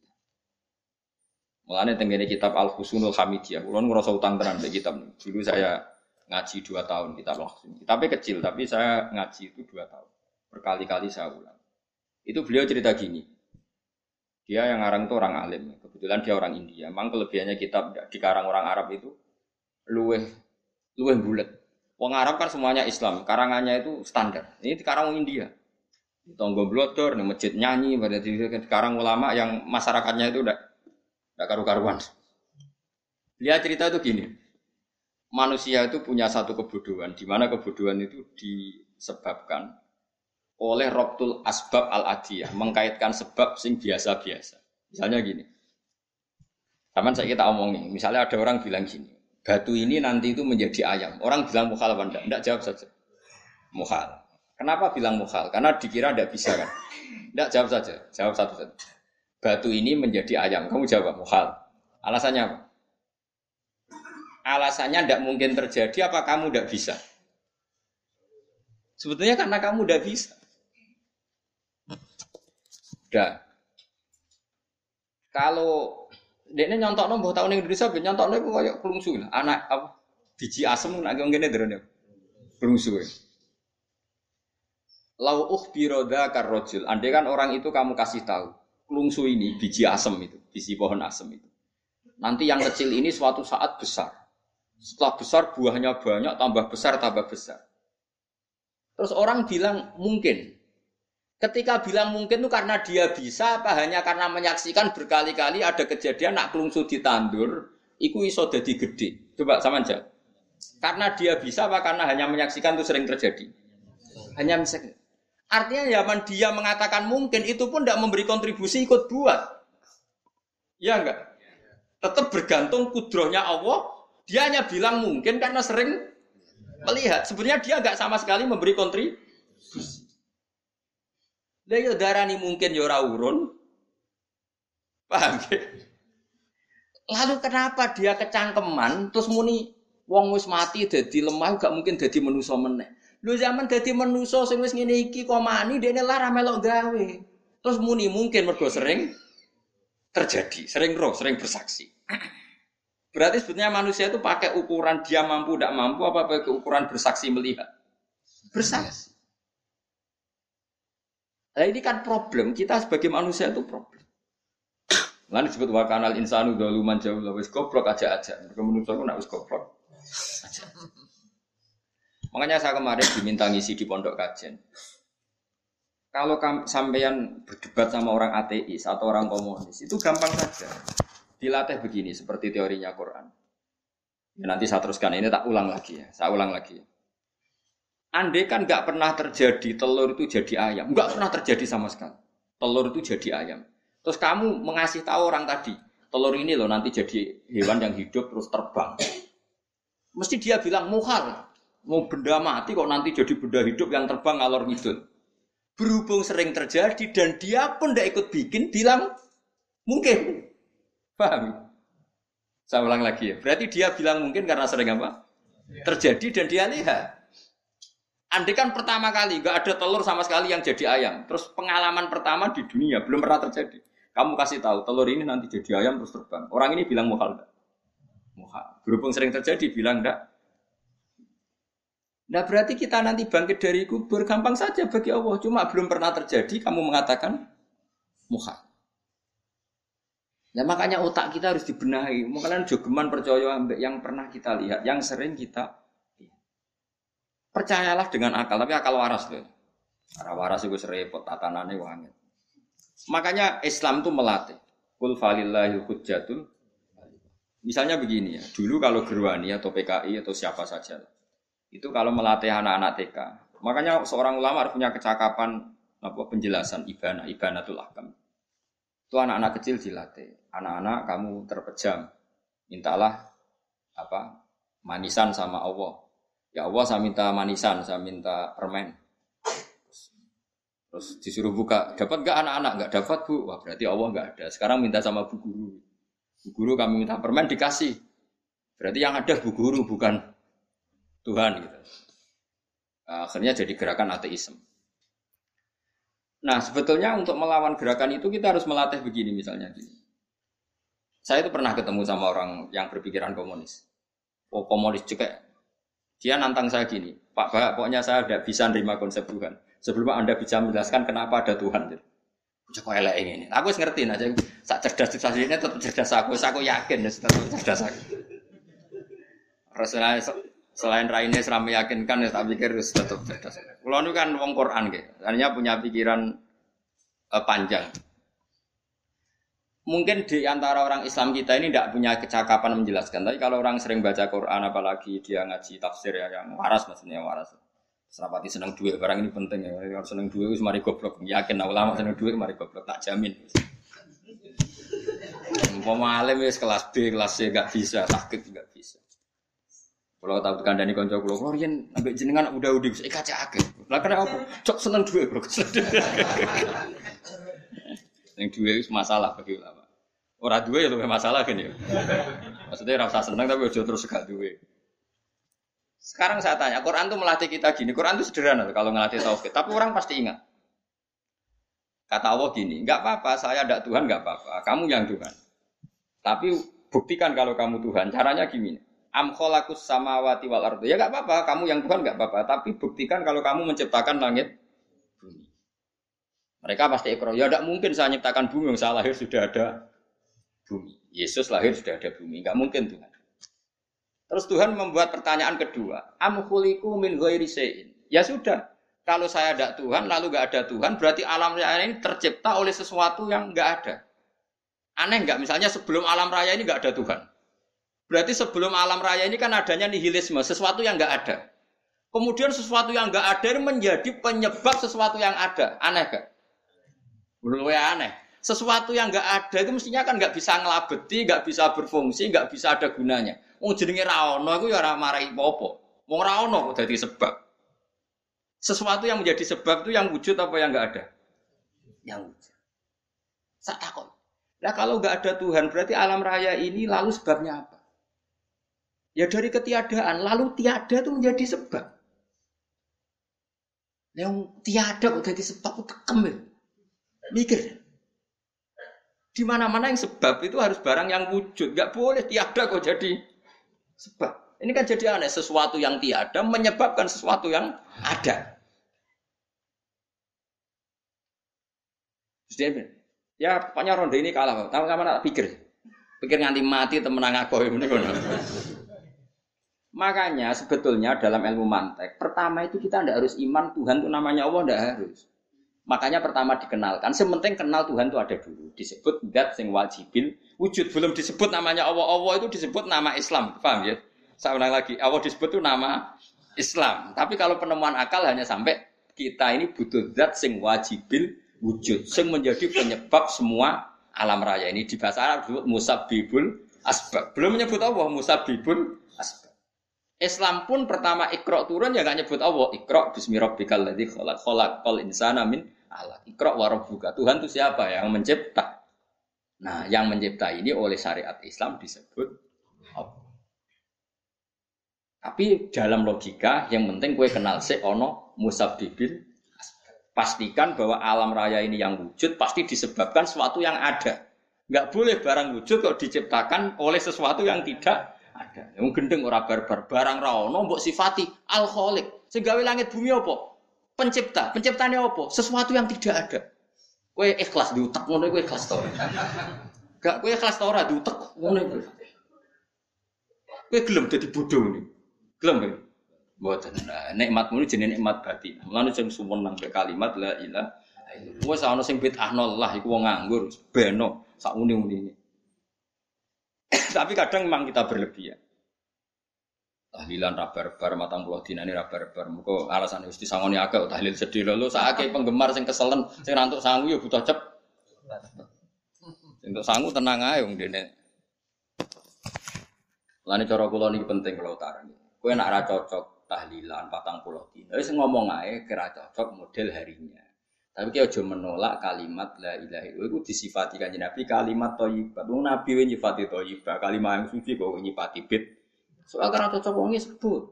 Mulane tengene kitab Al-Husunul Hamidiyah, kula ngrasa utang tenan mbek kitab. Dulu saya ngaji 2 tahun kitab langsung. Kitabnya kecil tapi saya ngaji itu 2 tahun. Berkali-kali saya ulang. Itu beliau cerita gini. Dia yang ngarang itu orang alim. Kebetulan dia orang India. Memang kelebihannya kitab dikarang orang Arab itu luweh bulet. Wong Arab kan semuanya Islam, karangannya itu standar. Ini dikarang orang India. Di tonggo blodor, di masjid nyanyi, berarti dikarang ulama yang masyarakatnya itu udah karu-karuan. Dia cerita itu gini, manusia itu punya satu kebodohan, di mana kebodohan itu disebabkan oleh robtul asbab al-adiyah, mengkaitkan sebab sing biasa-biasa. Misalnya gini, taman saya kita omongin, misalnya ada orang bilang gini, batu ini nanti itu menjadi ayam. Orang bilang mukhal apa enggak? Enggak, jawab saja. Mukhal. Kenapa bilang mukhal? Karena dikira enggak bisa kan? Enggak, jawab saja. Jawab satu saja. Batu ini menjadi ayam. Kamu jawab mukhal. Alasannya apa? Alasannya tidak mungkin terjadi apa kamu tidak bisa? Sebetulnya karena kamu tidak bisa. Udah. Kalau dekne nyontokno mbah taun ning Indonesia ben nyontokno iku koyo klungsu lah. Anak apa biji asem nek ngene ndrene. Klungsu. lau ukhbiro dzakar rajul. Andai kan orang itu kamu kasih tahu, klungsu ini biji asem itu, biji pohon asem itu. Nanti yang kecil ini suatu saat besar. Setelah besar buahnya banyak, tambah besar, tambah besar. Terus orang bilang mungkin. Ketika bilang mungkin itu karena dia bisa, apa hanya karena menyaksikan berkali-kali ada kejadian nak klungsu ditandur, iku iso dadi gede. Coba sama aja. Karena dia bisa, apa karena hanya menyaksikan itu sering terjadi? Hanya menyaksikan. Artinya zaman dia mengatakan mungkin, itu pun tidak memberi kontribusi ikut buat. Ya enggak? Tetap bergantung kudrohnya Allah. Dia hanya bilang mungkin karena sering melihat. Sebenarnya dia enggak sama sekali memberi kontribusi. Lah yo darani mungkin yo ora urun. Paham ya? Lalu kenapa dia kecangkeman terus muni wong wis mati dadi lemah gak mungkin dadi manusa meneh. Lho zaman dadi manusa sing wis ngene iki kok mani dene lara melok gawe. Terus muni mungkin mergo sering terjadi, sering roh, sering bersaksi. Berarti sebetulnya manusia itu pakai ukuran dia mampu tidak mampu apa pakai ukuran bersaksi melihat? Bersaksi. Nah ini kan problem, kita sebagai manusia itu problem. Lalu disebut wa kanal insanu dzaluman jahula wis goblok aja. Mergo manusia ku nak wis goblok aja. Makanya saya kemarin diminta ngisi di pondok kajian. Kalau sampean berdebat sama orang ateis atau orang komunis itu gampang saja. Dilatih begini seperti teorinya Quran. Ya, nanti saya teruskan ini tak ulang lagi ya. Saya ulang lagi. Andai kan nggak pernah terjadi telur itu jadi ayam, nggak pernah terjadi sama sekali. Telur itu jadi ayam. Terus kamu mengasih tahu orang tadi, telur ini loh nanti jadi hewan yang hidup terus terbang. Mesti dia bilang muhal, mau benda mati kok nanti jadi benda hidup yang terbang ngalor ngidul. Berhubung sering terjadi dan dia pun tidak ikut bikin, bilang mungkin. Paham? Saya ulang lagi ya. Berarti dia bilang mungkin karena sering apa? Terjadi dan dia lihat. Andai kan pertama kali nggak ada telur sama sekali yang jadi ayam, terus pengalaman pertama di dunia belum pernah terjadi. Kamu kasih tahu telur ini nanti jadi ayam terus terbang. Orang ini bilang muhal enggak? Muhal. Berhubung sering terjadi bilang enggak. Nah berarti kita nanti bangkit dari kubur gampang saja bagi Allah. Cuma belum pernah terjadi kamu mengatakan muhal. Nah makanya otak kita harus dibenahi. Makanya jogeman percaya yang pernah kita lihat, yang sering kita percayalah dengan akal, tapi akal waras loh. Akal waras itu serempet, tatanannya wangi. Makanya Islam itu melatih. Qul falillahil hujjatul. Misalnya begini ya, dulu kalau Gerwani atau PKI atau siapa saja, itu kalau melatih anak-anak TK, makanya seorang ulama harus punya kecakapan penjelasan ibanatul ahkam. Itu anak-anak kecil dilatih. Anak-anak kamu terpejam, mintalah manisan sama Allah. Ya Allah saya minta manisan, saya minta permen. Terus disuruh buka, dapat enggak anak-anak? Enggak dapat bu, wah berarti Allah enggak ada. Sekarang minta sama bu guru. Bu guru kami minta permen dikasih. Berarti yang ada bu guru bukan Tuhan gitu. Akhirnya jadi gerakan ateisme. Nah sebetulnya untuk melawan gerakan itu kita harus melatih begini misalnya gini. Saya itu pernah ketemu sama orang yang berpikiran komunis. Oh komunis juga. Dia nantang saya gini, Pak Bah, pokoknya saya tidak bisa menerima konsep Tuhan. Sebelum Anda bisa menjelaskan kenapa ada Tuhan. Kok elek ini. Aku ngerti aja. Sak cerdas ini tetap cerdas aku yakin tetap cerdas aku. Selain raine seram meyakinkan, tak pikir tetap cerdas. Kalau itu kan wong Quran gitu. Artinya punya pikiran panjang. Mungkin di antara orang Islam kita ini tidak punya kecakapan menjelaskan. Tapi kalau orang sering baca Quran, apalagi dia ngaji tafsir ya, yang waras maksudnya yang waras. Serapati senang duit, barang ini penting ya. Kalau senang duit, mari goblok. Yakin ulama senang duit, mari goblok. Tak jamin. Umpama alim wis kelas B, kelas C enggak bisa, sakit enggak bisa. Kalau tahu kandhani kanca kula, kula riyen ambek jenengan udah-udah wis kaca akeh. Lah kena apa? Cok seneng duit, Bro. Yang duit itu masalah bagi ulama. Orang duit itu masalah kan ya. Maksudnya rasa senang tapi udah terus gak duit. Sekarang saya tanya, Quran itu melatih kita gini. Quran itu sederhana kalau ngelatih tauhid. Tapi orang pasti ingat. Kata Allah gini, nggak apa-apa, saya ada Tuhan nggak apa-apa. Kamu yang Tuhan. Tapi buktikan kalau kamu Tuhan. Caranya gini. Am khalaqus samawati wal ardi. Ya nggak apa-apa, kamu yang Tuhan nggak apa-apa. Tapi buktikan kalau kamu menciptakan langit Mereka pasti ikrar, ya tidak mungkin saya nyiptakan bumi, yang saya lahir sudah ada bumi. Yesus lahir sudah ada bumi, enggak mungkin Tuhan. Terus Tuhan membuat pertanyaan kedua, am khuliqu min ghairi syai'in. Ya sudah, kalau saya ada Tuhan lalu enggak ada Tuhan, berarti alam raya ini tercipta oleh sesuatu yang enggak ada. Aneh enggak? Misalnya sebelum alam raya ini enggak ada Tuhan. Berarti sebelum alam raya ini kan adanya nihilisme, sesuatu yang enggak ada. Kemudian sesuatu yang enggak ada ini menjadi penyebab sesuatu yang ada. Aneh enggak? Menurut saya aneh. Sesuatu yang enggak ada itu mestinya kan enggak bisa ngelabeti, enggak bisa berfungsi, enggak bisa ada gunanya. Wong jenenge ra ono iku ya ora marai apa-apa. Wong ra ono kok dadi sebab. Sesuatu yang menjadi sebab itu yang wujud apa yang enggak ada? Yang wujud. Sak takon. Lah kalau enggak ada Tuhan berarti alam raya ini lalu sebabnya apa? Ya dari ketiadaan, lalu tiada itu menjadi sebab. Yang tiada kok jadi sebab itu tekem ya. Mikir. Di mana-mana yang sebab itu harus barang yang wujud. Enggak boleh tiada kok jadi sebab. Ini kan jadi aneh, sesuatu yang tiada menyebabkan sesuatu yang ada. Ya pokoknya ronde ini kalah. Tahu-tahu tak pikir. Pikir nganti mati temenang aku ini kono. Makanya sebetulnya dalam ilmu mantek, pertama itu kita tidak harus iman Tuhan itu namanya Allah, tidak harus. Makanya pertama dikenalkan, sementing kenal Tuhan itu ada dulu. Disebut zat sing wajibil wujud, belum disebut namanya Allah. Allah itu disebut nama Islam, paham ya? Saya ulang lagi, Allah disebut itu nama Islam. Tapi kalau penemuan akal hanya sampai kita ini butuh zat sing wajibil wujud, sing menjadi penyebab semua alam raya ini. Di bahasa Arab disebut musabbibul asbab. Belum menyebut Allah, musabbibul asbab. Islam pun pertama Iqra turun ya enggak nyebut Allah. Iqra bismi rabbikal ladzi khalaqal insana min 'alaq. Iqra wa rabbuka. Tuhan itu siapa yang mencipta? Nah, yang mencipta ini oleh syariat Islam disebut Allah. Tapi dalam logika yang penting kowe kenal sik ana musabbibil. Pastikan bahwa alam raya ini yang wujud pasti disebabkan sesuatu yang ada. Enggak boleh barang wujud kok diciptakan oleh sesuatu yang tidak ada. Yang gendeng ora barbar, barang ra ono mbok sifati al-khaliq. Sing gawe langit bumi apa? Pencipta. Penciptane apa? Sesuatu yang tidak ada. Kowe ikhlas diutek ngono kowe ikhlas to. Gak kowe ikhlas to ora diutek ngono kowe. Kowe gelem dadi bodho ngene. Gelem kowe. Mboten. Nah, nikmatmu jenenge nikmat batin. Mulane sing sumeneng be kalimat la ilaha illallah. Wes ana sing bid'ahno lah iku wong nganggur, beno sak uni-unine. Tapi kadang memang kita berlebihan. Tahlilan rabar-bar matang puluh dinane rabar-bar. Muga alasane wis disangoni akeh tahlil sedih lho sakake penggemar sing keselen sing rantuk sangu ya butuh cep. Sing entuk sangu tenang ae wong dene. Lane cara kula niki penting kula utarani. Kowe nek ora cocok tahlilan 40 dina wis ngomong ae kira cocok model harinya. Tapi ki aja menolak kalimat la ilaha illallah iku disifati Kanjeng Nabi kalimat thayyibah. Wong Nabi we nyifati thayyibah, kalimat yang suci kok nyifati bid. Soal karena cocok wong sebut.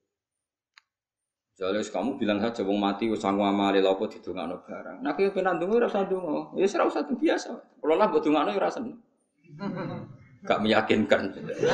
Jadi kamu bilang saja wong mati wis sangu amale lha apa didongakno barang. Nek kowe pengen ndonga ora usah ndonga. Ya ora usah biasa. Kalau lah mbok dongakno ya ora seneng. Gak meyakinkan.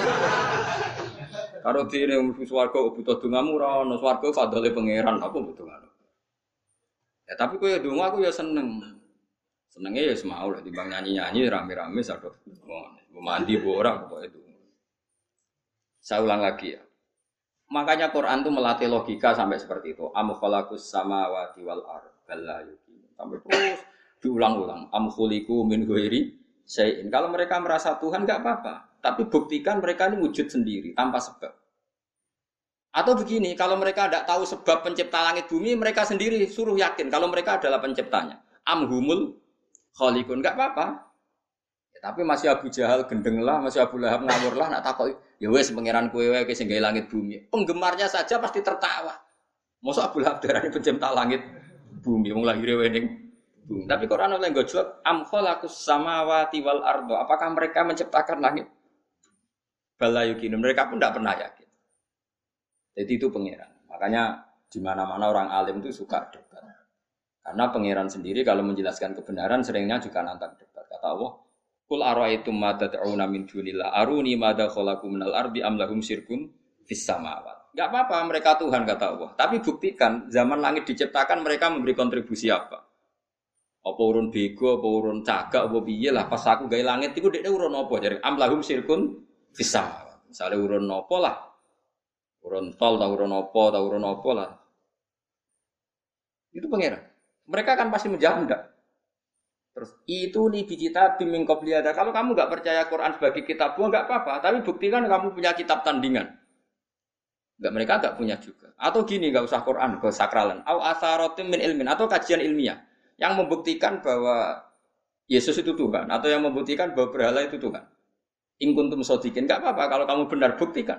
Karo dene mlebu swarga butuh dongamu ora ono swarga fadhole pangeran apa mbok dongakno. Ya tapi kowe ndonga aku ya seneng. Senenge ya semau lah timbang nyanyi-nyanyi rame-rame sadok. Mandi mbok ora pokoke itu. Saya ulang lagi ya. Makanya Quran itu melatih logika sampai seperti itu. Am khalaqus samawati wal ardh balla yuqin. Sampai terus diulang-ulang. Am khuliqu min ghairi syai'in. Kalau mereka merasa Tuhan enggak apa-apa, tapi buktikan mereka ini wujud sendiri tanpa sebab. Atau begini, kalau mereka tidak tahu sebab pencipta langit bumi, mereka sendiri suruh yakin kalau mereka adalah penciptanya. Am humul khaliqun enggak apa-apa. Tapi masih Abu Jahal gendeng lah, masih Abu Lahab ngawur lah, nak takoki, ya wes pangeran kowe wae sing gawe langit bumi. Penggemarnya saja pasti tertawa. Mosok Abu Lahab darani pencipta langit bumi, wong lahire wae ning bumi. Tapi Quran oleh nggo jawab am khalaqus samawati wal ardo. Apakah mereka menciptakan langit? Bala yukin. Mereka pun tidak pernah yakin. Jadi itu pangeran. Makanya di mana-mana orang alim itu suka debat. Karena pangeran sendiri kalau menjelaskan kebenaran seringnya juga nantang debat. Kata Allah, Qul ara'aytum ma tad'una min dunillah aruni madza khalaqu minal ardi am lahum syirkun fis samawat. Enggak apa-apa mereka Tuhan kata Allah. Tapi buktikan zaman langit diciptakan mereka memberi kontribusi apa? Apa urun bego, apa urun cagak, apa piye lah pas aku gawe langit iku dekne urun apa jare am lahum sirkun fisam. Misale urun apa lah. Urun tol ta urun apa lah. Itu pangeran. Mereka kan pasti menjawab enggak. Terus itu nih kita bimbing qobliyada. Kalau kamu enggak percaya Quran sebagai kitab buah enggak apa-apa, tapi buktikan kamu punya kitab tandingan. Enggak, mereka enggak punya juga. Atau gini, enggak usah Quran, enggak sakralan. Au atharatim min ilmin atau kajian ilmiah yang membuktikan bahwa Yesus itu Tuhan atau yang membuktikan bahwa berhala itu Tuhan. In kuntum shodiqin, enggak apa-apa kalau kamu benar buktikan.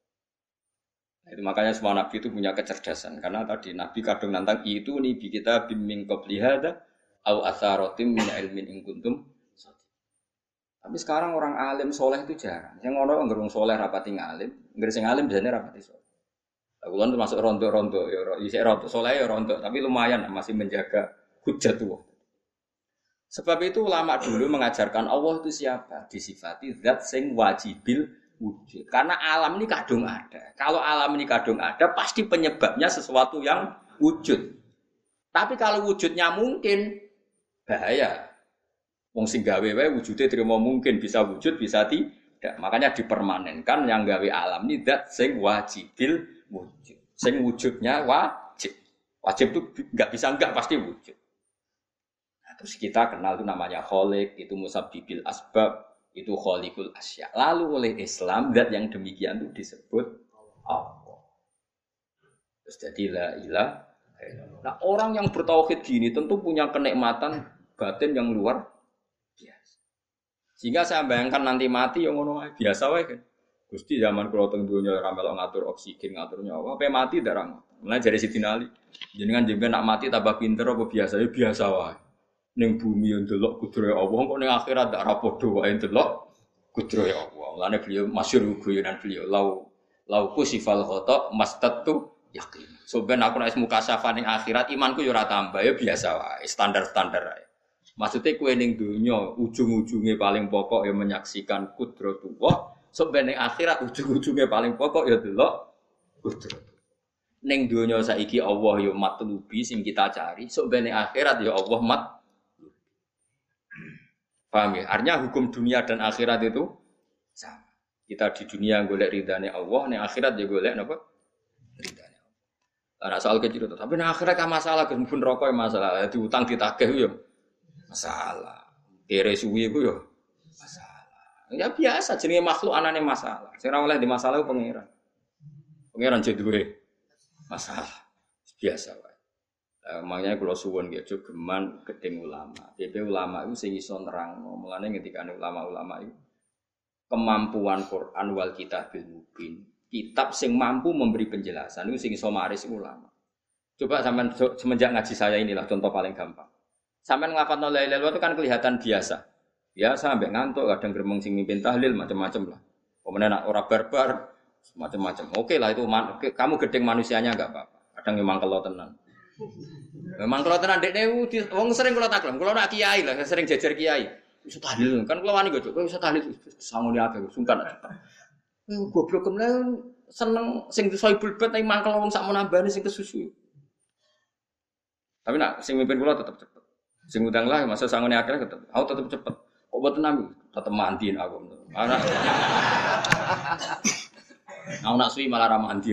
Nah, itu makanya semua nabi itu punya kecerdasan karena tadi nabi kadung nantang itu nih kita bimbing qobliyada au atharatim min ilmin in kuntum shodiqin. Tapi sekarang orang alim soleh itu jarang. Yang ono ngerung soleh rapati ngalim, nggere sing alim biasanya rapati soleh. Kulo termasuk rondo-rondo ya isih rondo soleh ya rondo, tapi lumayan masih menjaga hujat tuh. Sebab itu ulama dulu mengajarkan Allah itu siapa? Disifati zat sing wajibil wujud. Karena alam ini kadung ada. Kalau alam ini kadung ada, pasti penyebabnya sesuatu yang wujud. Tapi kalau wujudnya mungkin, bahaya. Wong sing gawe wae wujude terima mungkin bisa wujud, bisa tidak. Makanya dipermanenkan yang gawe alam ini zat sing wajibil wujud. Sing wujudnya wajib. Wajib itu enggak bisa enggak pasti wujud. Terus kita kenal itu namanya khaliq, itu musabbibil asbab, itu khaliqul asya. Lalu oleh Islam zat yang demikian itu disebut Allah. Terus jadi la ilaha illallah. Nah, orang yang bertauhid gini tentu punya kenikmatan batin yang luar biasa. Sehingga saya bayangkan nanti mati yang ngono biasa wae kan. Gusti zaman kula teng donya ora melok ngatur oksigen, ngatur nyawa, pe mati darang. Mulai dari Sidina Ali. Jenengan nak mati tambah pinter apa biasa? Ya biasa wae. Ning bumi yo ndelok kudrohe Allah, kok ning akhirat ndak ra padha wae ndelok kudrohe Allah. Mulane beliau masyhur guyonan beliau lau kusifal khata mastatu yakin. So ben aku nek mukasafah ning akhirat imanku yo ora tambah ya biasa wae, standar-standar wae. Maksudnya kowe ning donya ujung-ujunge paling pokok ya menyaksikan kudratullah, so ben ning akhirat ujung-ujunge paling pokok ya delok kudrat. Ning donya saiki Allah yo matlubi sing kita cari, so ben ning akhirat ya Allah paham ya? Artinya hukum dunia dan akhirat itu sama. Kita di dunia golek ridhane Allah, ning akhirat ya golek napa? Ridhane Allah. Ana soal kecil itu, tapi ning akhirat ka masalah pun rokok masalah, diutang ditagih yo masalah. Kere suwi iku yo masalah. Ya biasa jenenge makhluk anane masalah. Sing ora oleh di masalah ku pangeran. Pangeran duwe masalah. Biasa wae. Makanya kalau suwon gitu geman gedeng ulama. Jadi ulama itu sing iso nerangno. Mulane ngendikane ulama-ulama itu kemampuan Quran wal kitabil mubin. Kitab sing mampu memberi penjelasan itu sing iso maris ulama. Coba sampean semenjak ngaji saya inilah contoh paling gampang. Sampean ngapalno la ilaha illallah itu kan kelihatan biasa. Biasa ambek ngantuk kadang gremeng sing mimpin tahlil macam-macam lah. Pemene nak ora barbar macam-macam. Oke lah itu kamu gedeng manusianya enggak apa-apa. Kadang memang kalau tenan. Memang kalau tenan dekne wong sering kula taklam, kula nak kiai lah, sering jajar kiai. Iso tahlil, kan kula wani godhok, kowe iso tahlil sangone akeh sungkan. Goblok kemene seneng sing soibul bet ning mangkel wong sak menambane sing kesusu. Tapi nak sing mimpin kula tetep cepet. Sing udang lah masa sangone akeh tetep. Aku tetep cepet. Kok mboten nami, tetep mandiin aku. Anak. Aku nak suwi malah ra mandi.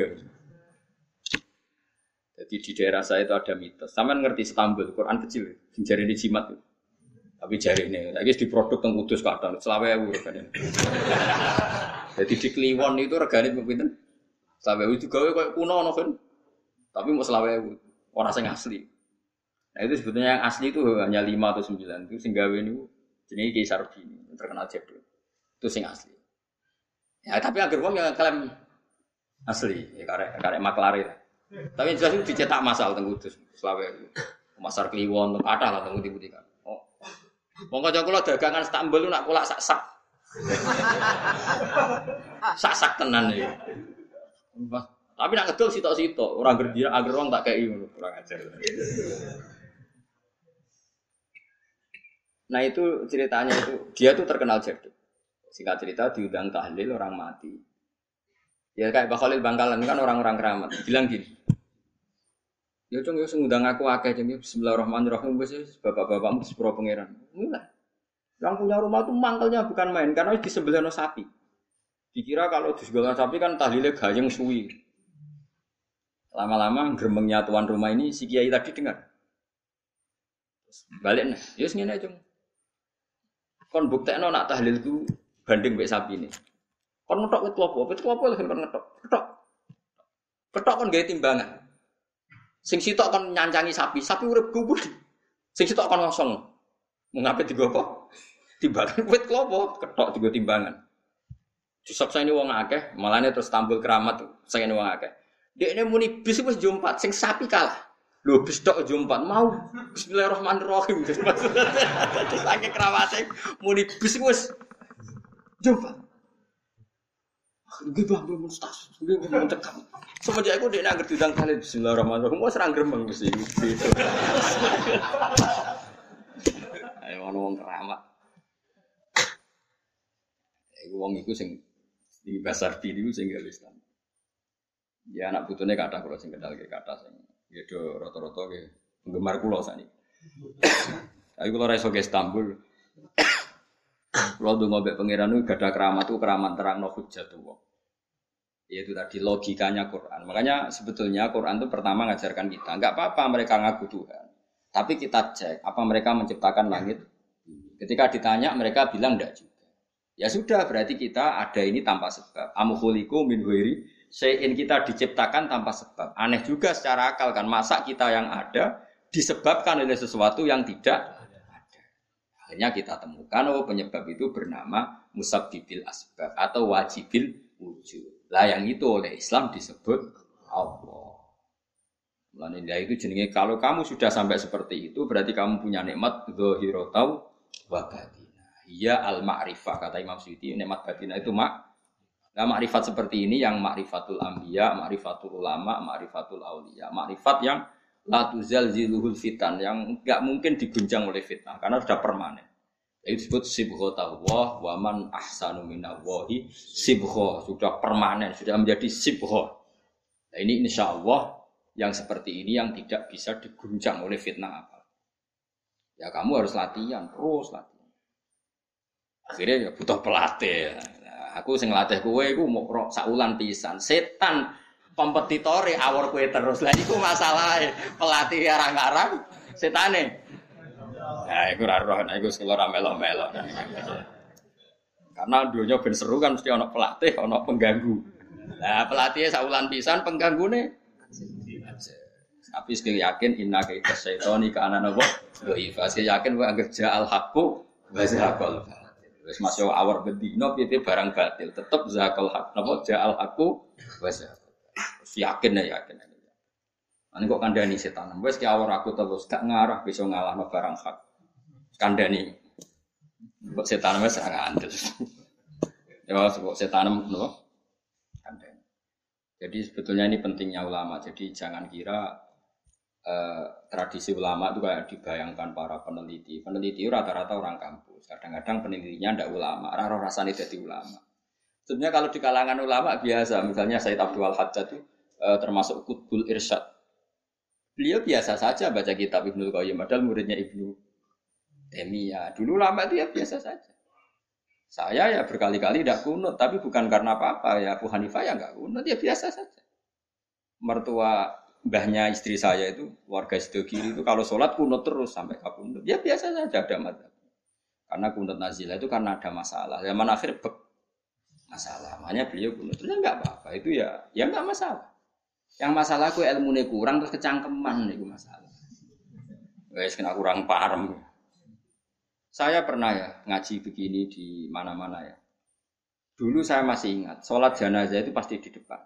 Jadi di daerah saya itu ada mitos. Sampeyan ngerti Istanbul, Quran kecil, jari ini jimat. Tapi jari ini, lagi di produk teng Kudus kadang, selawe ewu regane. Jadi di Kliwon itu regane pinten? Selawe ewu juga kayak kuno ono kan. Tapi mau selawe ewu, orang sing asli. Nah itu sebetulnya yang asli itu hanya 5 atau 9. Itu sing gawe niku jenenge Ki Sarbini, terkenal jebol. Itu sing asli. Ya tapi agar wong yang klaim asli, ya karek maklare. Tapi jelas itu dicetak masal teng Kudus, selawe pasar Kliwon, kathah lah teng putih-putih kan. Oh. Wong kanca kula dagangan Istanbul nak kula sak-sak. Sak-sak tenan iki. Tapi nak ngedol sitok-sitok, ora gerdia agar wong tak kei ngono, kurang ajar. Nah itu ceritanya itu, dia tuh terkenal jaduk. Singkat cerita diundang tahlil orang mati. Ya kayak Pak Khalil Bangkalan kan orang-orang keramat. Bilang gini, Ya cung ya ngundang aku akeh cung ya bismillahirrahmanirrahim wis bapak-bapakmu sepuro pangeran. Mulai. Yang punya rumah tuh mangkelnya bukan main karena di sebelahnya sapi. Dikira kalau di sebelah sapi kan tahlilnya gayeng suwi. Lama-lama gremengnya tuan rumah ini si kiai tadi dengar. Balik nih, ya ngene aja. Kon buktekno nak tahlilku banding mbek sapi ini. Kon ngetok wit klopo lho kon ngetok. Ketok kon gawe timbangan. Sing sitok kon nyancangi sapi urip kubur. Sing sitok kon ngosong. Mengape digo apa? Timbangan wit klopo, ketok digo timbangan. Disaksa ini wong akeh, malane terus tampil keramat saking wong akeh. Dekne muni bis wis jompat sing sapi kalah. Lho bis tok jompat mau bismillahirrahmanirrahim. Saking keramate muni bis wis jompat. Nggih Bang, mun stas. Nggih mun cekap. Semenjak aku dekne anggere diundang kali bismillahirrahmanirrahim wis ra gremeng mesti. Ayo ono wong keramat. Iku wong iku sing di pasar diri sing gak Islam. Ya anak putune kathah kula sing kendal ke kathah sing ya do rata-rata ke penggemar kula sakniki. Aku kula ra iso ke Istanbul. Kula ndonga mbek pangeran niku gadah keramat ku keramat terangno hujjatullah. Yaitu tadi logikanya Quran. Makanya sebetulnya Quran itu pertama ngajarkan kita, enggak apa-apa mereka ngaku Tuhan. Tapi kita cek apa mereka menciptakan langit. Ketika ditanya mereka bilang enggak juga. Ya sudah, berarti kita ada ini tanpa sebab. Amkhuliku min ghairi syai'in, kita diciptakan tanpa sebab. Aneh juga secara akal kan, masa kita yang ada disebabkan oleh sesuatu yang tidak ada. Akhirnya kita temukan penyebab itu bernama musabbibil asbab atau wajibil wujud. Lah yang itu oleh Islam disebut Allah. Lan itu jenenge kalau kamu sudah sampai seperti itu berarti kamu punya nikmat zahiratan wa batin. Iya al-ma'rifah kata Imam Suyuti, nikmat batinah itu Nah, makrifat seperti ini yang makrifatul anbiya, makrifatul ulama, makrifatul auliya, makrifat yang la tuzalziluhul fitan, yang enggak mungkin diguncang oleh fitnah karena sudah permanen. Itu disebut sibghatullah wa man ahsanu minallahi sibghah, sudah permanen, sudah menjadi sibghah. Nah, ini insyaallah yang seperti ini yang tidak bisa diguncang oleh fitnah apa. Ya kamu harus latihan, terus latihan. Akhirnya ya butuh pelatih. Nah, aku sing latih kowe iku mau saulan pisan. Setan kompetitore awor kowe terus. Lah iku masalahe. Pelatih arang-arang setane. Nah, iku ora roh, iku sing ora melo-melo. Karena dunya ben seru kan mesti ana pelatih, ana pengganggu. Nah, pelatihnya saulan pisan, penggangune tapi sekali yakin inna kaita syaitani ka ana napa? Dhaif. Saya yakin kowe anggere ja'al haqqu wa zahaqal. Wis masuk awar bedino piye barang batil tetep zakal hak napa ja'al aku wis yakin. Ane kok kandhani setan wis ki awar aku terus gak ngarah bisa ngalahno barang hak kandhani kok setan wis ora ngandel ya kok setan napa kandhani. Jadi sebetulnya ini pentingnya ulama, jadi jangan kira tradisi ulama itu kayak dibayangkan para peneliti. Peneliti rata-rata orang kampus. Kadang-kadang penelitinya ndak ulama. Raro rasane dadi ulama. Sebenarnya kalau di kalangan ulama biasa, misalnya Said Abdul Hajjaj itu termasuk Qutbul Irsyad. Beliau biasa saja baca kitab Ibnu Qayyim, padahal muridnya Ibnu Taimiyah. Dulu ulama itu ya biasa saja. Saya ya berkali-kali tidak kunut, tapi bukan karena apa-apa. Ya Abu Hanifah ya enggak kunut, ya biasa saja. Mertua mbahnya istri saya itu warga sido kiri itu kalau sholat kunut terus sampai kabundut. Ya biasa saja ada madzhab. Karena kunut nazilah itu karena ada masalah. Zaman akhir masalah. Makanya beliau kunut terus enggak apa-apa. Itu ya enggak masalah. Yang masalah ku ilmune kurang terus kecangkeman itu masalah. Guys kena kurang paham. Saya pernah ya ngaji begini di mana-mana ya. Dulu saya masih ingat sholat jenazah itu pasti di depan.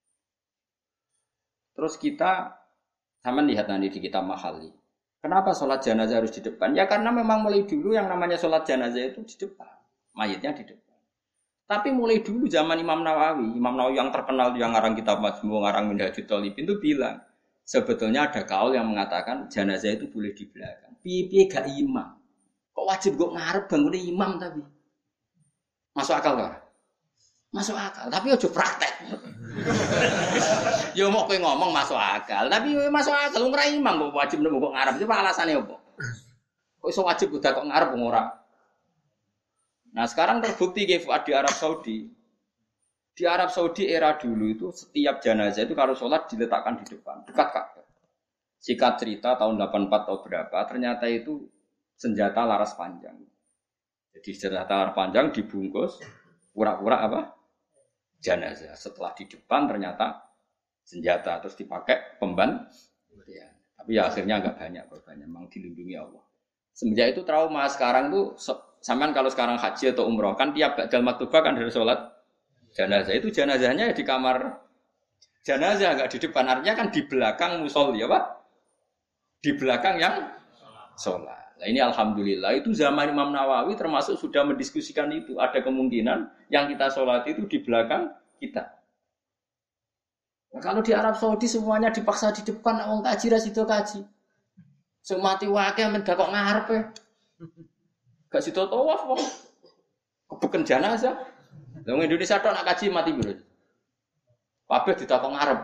Terus kita sama lihat nanti di kitab Mahali. Kenapa sholat jenazah harus di depan? Ya karena memang mulai dulu yang namanya sholat jenazah itu di depan. Mayitnya di depan. Tapi mulai dulu zaman Imam Nawawi yang terkenal yang ngarang kitab Majmu', ngarang Minhajul Talibin itu bilang. Sebetulnya ada kaul yang mengatakan jenazah itu boleh di belakang. Piye-piye gak imam. Kok wajib kok ngarep bangun imam tapi. Masuk akal gak? Masuk akal. Tapi ojo praktek. Ya mau kowe ngomong masuk akal, tapi masuk akal ora imam kok wajib nemu kok ngarep. Coba alasane opo? Kok iso wajib udah kok ngarep ora? Nah, sekarang terbukti di Arab Saudi. Di Arab Saudi era dulu itu setiap jenazah itu kalau sholat diletakkan di depan, dekat Ka'bah. Singkat cerita tahun 84 atau berapa, ternyata itu senjata laras panjang. Jadi senjata laras panjang dibungkus pura-pura apa? Jenazah. Setelah di depan ternyata senjata terus dipakai pemban. Ya. Tapi ya akhirnya enggak banyak korbannya, memang dilindungi Allah. Semenjak itu trauma. Sekarang tuh sampean kalau sekarang haji atau umroh kan tiap ba'dal maktubah kan dari sholat jenazah itu jenazahnya di kamar jenazah enggak di depan, artinya kan di belakang musolli ya Pak, di belakang yang sholat. Nah ini alhamdulillah itu zaman Imam Nawawi termasuk sudah mendiskusikan itu, ada kemungkinan yang kita sholat itu di belakang kita. Nah, kalau di Arab Saudi semuanya dipaksa di depan, orang kaji rasido kaji, semati wakil mendak kok ngarep ya, gak sido tawaf wong, kebuken jenazah. Wong Indonesia tok nak kaji mati bro. Kabeh ditakok ngarep.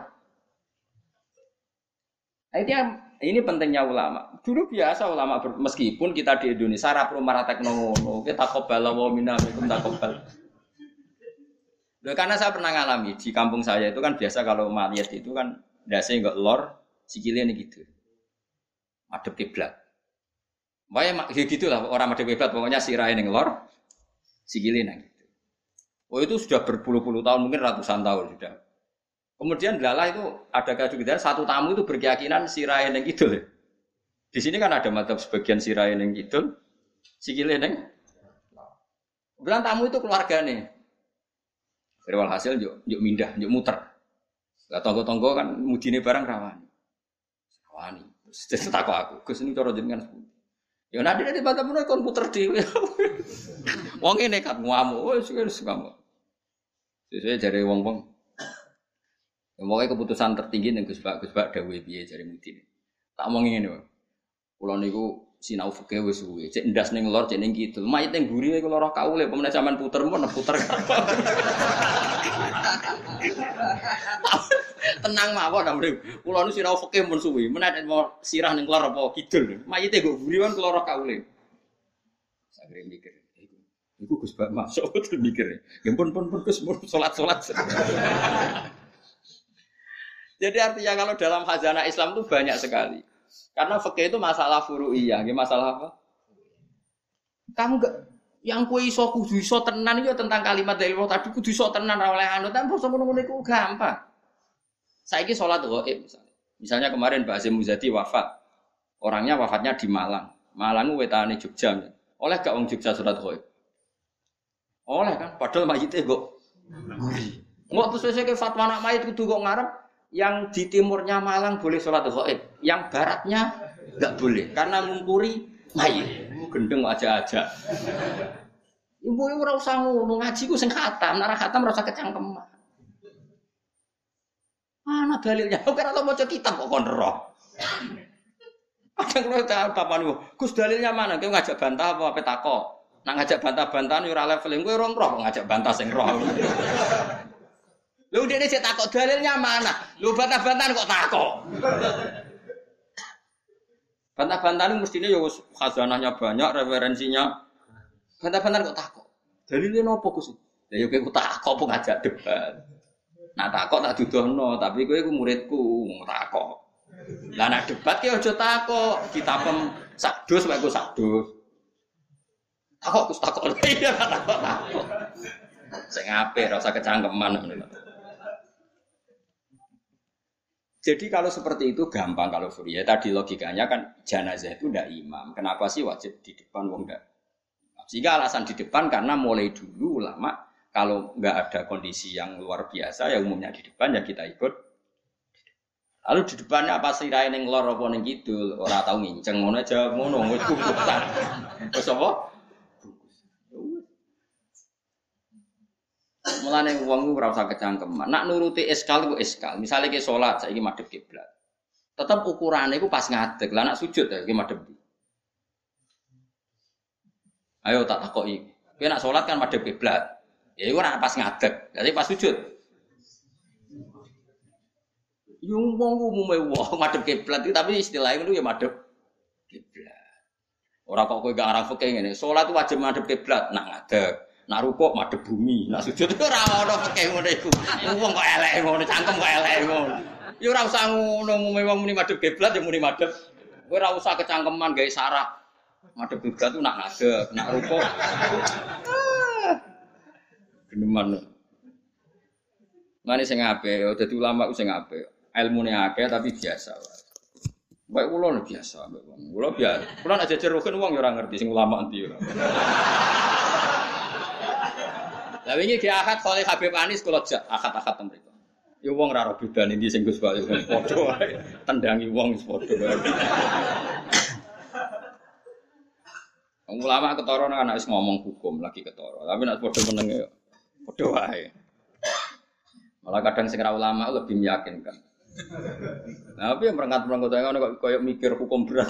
Ini pentingnya ulama. Dulu biasa ulama meskipun kita di Indonesia ra perlu maratek ngono, kita takobal wa minna minkum takobal. Karena saya pernah ngalami di kampung saya itu kan biasa kalau mayat itu kan ndase enggak lor, sikile gitu. Madhep kiblat. Wae ya gitulah orang madhep kiblat pokoknya sirahe ning lor, sikile nang gitu. Oh itu sudah berpuluh-puluh tahun, mungkin ratusan tahun sudah. Kemudian lala itu ada kejutan satu tamu itu berkeyakinan sirahe ning kidul. Di sini kan ada madzhab sebagian sirahe ning kidul, sikile ning. Bilang tamu itu keluargane. Berwal hasil yuk mindah, yuk muter. Lah tonggo-tonggo kan mudine barang rawani. Rawani. Terus takok aku, Gus ini cara jenengan sepundi. Ya nanti bantah menawa kon muter dhewe. Wong e nekat ngamuk, wis ngamuk. Sesuai jare wong-wong. Pokoknya keputusan tertinggi ning Gus Bak dawuhe piye jare mudine. Tak omong ngene wae. Kula niku sinau fikih wis suwe, cek ndas ning lor, cek ning kidul. Mayit ning mburi iku lara kaule, pemene sampean puter mun puter. Tenang mawon amrih. Kula nu sinau fikih mun suwe, menawa mau sirah ning lor apa kidul. Mayite nggo mburi kan lara kaule. Sagere mikir. Iku Gus Bak masuk betul mikir. Ya pun Gus salat-salat. Jadi artinya kalau dalam khazanah Islam itu banyak sekali. Karena fikih itu masalah furu'iyah, masalah apa? Kamu enggak yang kowe iso kudu iso tenan itu tentang kalimat dari Allah tadi kudu iso tenan ora oleh anu tapi basa ngono iku gampang. Saiki salat ghaib misalnya. Misalnya kemarin Mbak Azim Muzadi wafat. Orangnya wafatnya di Malang. Malang wetane Jogja. Oleh gak wong Jogja salat ghaib? Oleh kan, padahal mayite kok. Engko terus wis ke fatwa anak mayit kudu kok ngarep yang di timurnya Malang boleh sholat ghaib, yang baratnya enggak boleh karena ngungkuri mayit. Gendeng aja-aja. Ibu ora usah ngono, ngaji ku sing khatam, nek ora khatam ora usah kecangkeman. Mana dalilnya? Ora tau maca kitab kok kon roh. Ada kalau bapak niku, Gus dalilnya mana? Kowe ngajak bantah apa takok? Nak ngajak bantah-bantahan yo ora level kowe ora roh ngajak bantah sing roh. Lho dene sik takok dalilnya mana? Lho bantah-bantahan kok takok. Bantah-bantahan mestine ya wis khazanahnya banyak, referensinya. Bantah-bantahan kok takok. Dalile nopo Gus? Ya yo kowe takok apa ngajak debat. Nak takok tak dudohno, tapi kowe iku muridku, takok. Lah nak debat ki aja takok, kitabem sakdos wae ku sakdos. Takok Gus takok. Iya takok. Sing apik ora usah kecangkeman ngono. Jadi kalau seperti itu gampang kalau Furia. Tadi logikanya kan jenazah itu ndak imam. Kenapa sih wajib di depan wong ndak? Sehingga alasan di depan karena mulai dulu ulama kalau nggak ada kondisi yang luar biasa ya umumnya di depan ya kita ikut. Lalu di depannya apa sirahe ning lor apa ning kidul ora tau nginceng ngono aja ngono wis kubutan. Wis apa? Mulane wong ora usah kecangkeman. Nak nuruti eskal iku eskal. Misale ke salat saiki madhep kiblat. Tetep ukurane iku pas ngadeg. Lah nak sujud ya iki madhep. Ayo tak takoki. Kowe nak salat kan madhep kiblat. Ya iku ora pas ngadeg. Jadi pas sujud. Yung wong umume wong madhep kiblat itu tapi istilahnya itu ya madhep kiblat. Ora kok kowe gak arah fikih ngene. Salat wajib madhep kiblat, nak ngadeg. Nak rukuk madhep bumi, nak sujud ora ono fikih ngono iku. Wong kok elek ngono, cangkem kok elek ngono. Ya ora usah ngono umume wong muni madhep kiblat ya muni madhep. Kowe ora usah kecangkeman gawe syarat. Madhep kiblat itu nak ngadeg, nak rukuk. Geneman. Mane sing apik, dadi ulama sing apik. Ilmune akeh tapi biasa wae. Baik kula biasa, mbek wong. Kula biasa. Kula nek jejer rugen wong ya ora ngerti sing ulama endi ora. Lah wingi ki akad Khalil Habib Anis kula jak akad-akad ten mriku. Ya wong ora ora bedane ndi sing Gus Bayu padha wae. Tendangi wong wis padha wae. Wong ulama ketara nang anak wis ngomong hukum lagi ketara. Tapi nek padha meneng ya padha wae. Malah kadang sing ra ulama lebih meyakinkan. Nah, tapi yang merangkat-merangkat ngono kok koyo mikir hukum berat.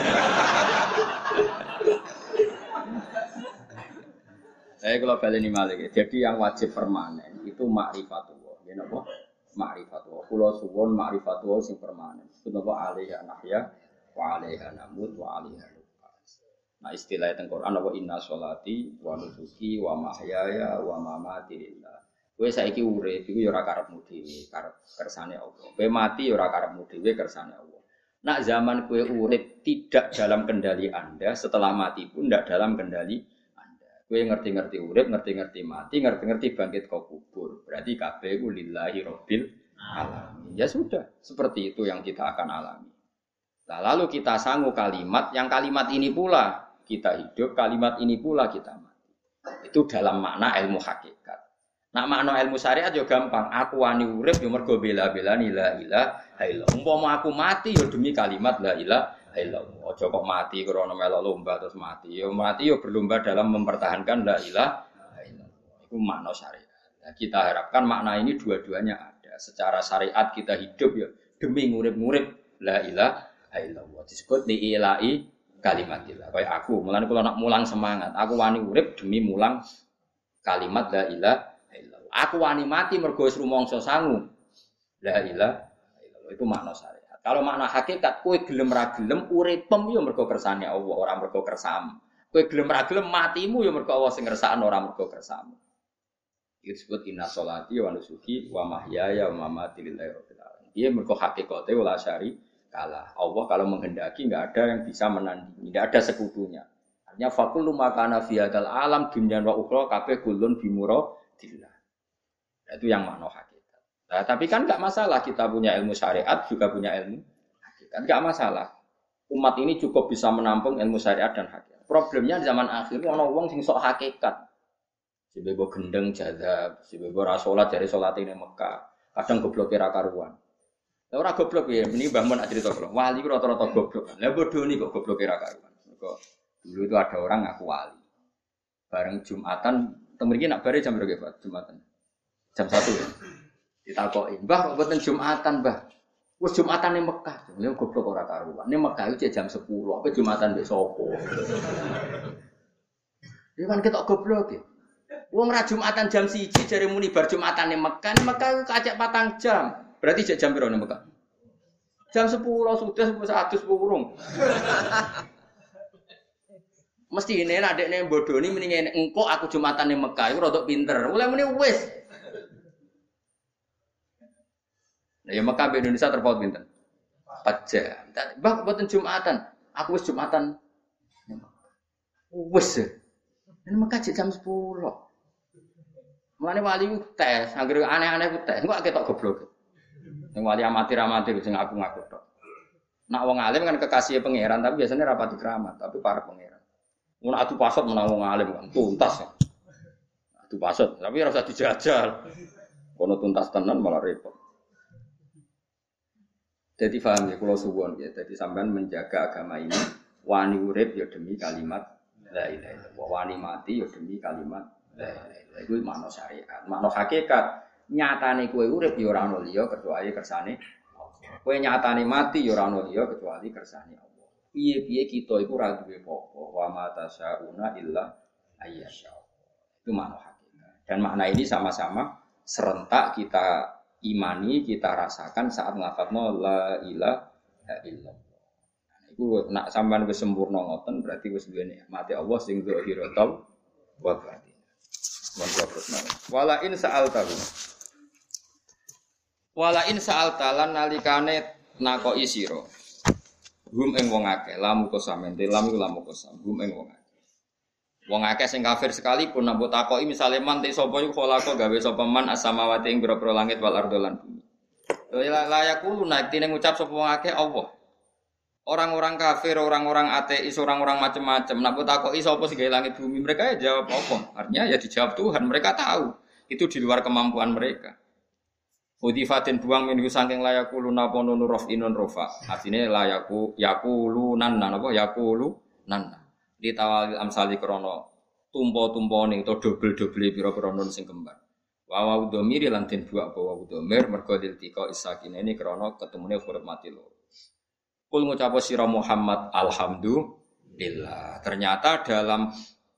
Kalau baleni malih. Jadi yang wajib permanen itu ma'rifatullah. Ya napa? Ma'rifatullah. Kula suwun ma'rifatullah sing permanen. Itu napa alaiha nahya wa alaiha namut wa alaiha nuqas. Nah, istilah teng Quran apa inna sholati wa nusuki wa mahyaya wa mamati lillah. Kowe saiki urip iku ya ora karepmu dhewe, karep kersane Allah. Kowe mati ya ora karepmu dhewe, kersane Allah. Nak zaman kowe urip tidak dalam kendali Anda, setelah mati pun tidak dalam kendali Anda. Kowe ngerti-ngerti urip, ngerti-ngerti mati, ngerti-ngerti bangkit ke kubur. Berarti kabeh iku lillahi rabbil alamin. Ya sudah, seperti itu yang kita akan alami. Nah, lalu kita sanggup kalimat, yang kalimat ini pula kita hidup, kalimat ini pula kita mati. Itu dalam makna ilmu hakikat. Nah makna ilmu syariat yo gampang. Aku wani urip yo mergo bela-belani la ilaha illallah. Umpama aku mati yo demi kalimat la ilaha illallah. Aja kok mati krana melok lomba terus mati. Yo mati yo berlomba dalam mempertahankan la ilaha illallah. Itu makna syariat. Nah, kita harapkan makna ini dua-duanya ada. Secara syariat kita hidup yo demi ngurip-ngurip la ilaha illallah. Disebut diilai kalimatillah. Kayak aku, mulane kula nak mulang semangat. Aku wani urip demi mulang kalimat la ilaha. Aku wani mati mergo wis rumangsa sangu. La ilaha illallah itu makna syariat. Kalau makna hakikat kowe gelem ra gelem uripem yo mergo kersane Allah, ora mergo kersamu. Kowe gelem ra gelem matimu yo mergo Allah sing ngersakno ora mergo kersamu. Itu disebut inna sholati wa nusuki wa mahyaya wa mamati lillahi rabbil alamin. Dia mergo hakikate wala syari kalah. Allah kalau menghendaki enggak ada yang bisa menandingi, enggak ada sekutunya. Artinya faqullu makana fi hadzal alam dunya wa ukhra kabeh kulun bimuradillah. Itu yang makna hakikat. Nah, tapi kan enggak masalah kita punya ilmu syariat juga punya ilmu hakikat. Enggak masalah. Umat ini cukup bisa menampung ilmu syariat dan hakikat. Problemnya di zaman akhir ana wong sing sok hakikat. Si bebo gendeng jadab, si bebo ra salat jare salate ning Mekah. Kadang gobloke ra karuan. Lah ora goblok ya, meni Mbah Mun cerita kula. Wali ku rata-rata goblok. Lah bodho niku kok gobloke ra karuan. Mergo dulu itu ada orang ngaku wali. Bareng Jumatan, teng mriki nak bare jam berapa Pak Jumatan? Jam 1 ya. Ditakoki, "Mbah, kok mboten Jumatan, Mbah?" Wis Jumatan ning Mekah. Lha goblok ora karuan. Ning Mekah iki jam 10, apa Jumatan mbek sapa? Ya kan ketok goblok ya. Wong ra Jumatan jam 1 jare muni bar Jumatan ning Mekah. Ning Mekah kacek 4 jam. Berarti jam piro ning Mekah? Jam 10 sudah 100 burung. Mesti ini adekne bodoni mendingan engko aku Jumatan ning Mekah iku rada pinter. Mulai muni wis. Nah, ya Mekah be Indonesia terpaut pinten? 4 jam. Mbah mboten Jumatan. Aku wis Jumatan. Wis. Ning Mekah jam 10. Mulane wali ku tes, anggere aneh-aneh ku tes. Engko ketok goblok. Sing wali amatir-amatir sing ngaku-ngaku tok. Nak wong alim kan kekasih pangeran, tapi biasanya rapati keramat, tapi para pangeran. Mun adu pasot menang wong alim kan tuntas. Adu pasot, tapi ora usah dijajal. Kono tuntas tenan malah repot. Jadi paham ya kalau suwon ya. Jadi sampean menjaga agama ini wani urip ya demi kalimat la ilaha illallah. Wani mati ya demi kalimat la ilaha illallah. Iku makna syariat. Makna hakikat nyatane kowe urip ya ora ono liya kecuali kersane Allah. Kowe nyatane mati ya ora ono liya kecuali kersane Allah. Piye-piye kita iku ora duwe apa-apa. Wa ma tasyauna illa ayyasha. Itu makna hakikat. Dan makna ini sama-sama serentak kita imani, kita rasakan saat nglafadzno la ilaha illallah. Iku nak sampean wis sempurna ngoten berarti wis duwe nikmate Allah sing zahiratul wa batin. Wala in sa'alta lan nalikane nakoki sira. Hum ing wong akeh, lamu kosamente, lamu kosam, hum ing wong akeh. Wong akeh sing kafir sekalipun nambah takoki misale man te sapa iku kholaqo gawe sapa man as-samawati ing boro-boro langit wal ardo lan bumi. La yaqulu naktine ngucap sapa wong akeh Allah. Orang-orang kafir, orang-orang ateis, orang-orang macam-macam. Nak takoki sapa sing gawe langit bumi, mereka ya jawab apa? Artinya ya dijawab Tuhan. Mereka tahu itu di luar kemampuan mereka. Udifatin buang minhu saking layakuluna pono nurof inun rofa. Artinya layaku yakulunan apa yakulunan. Ditawali amsali krono tumpo-tumpo ning to dobel-dobel pira-pira nun sing kembar. Wa wa domir lan den buak bawa domir mergo diltika isakine ini krono ketemune huruf mati loro. Kul ngucap sira Muhammad alhamdulillah. Ternyata dalam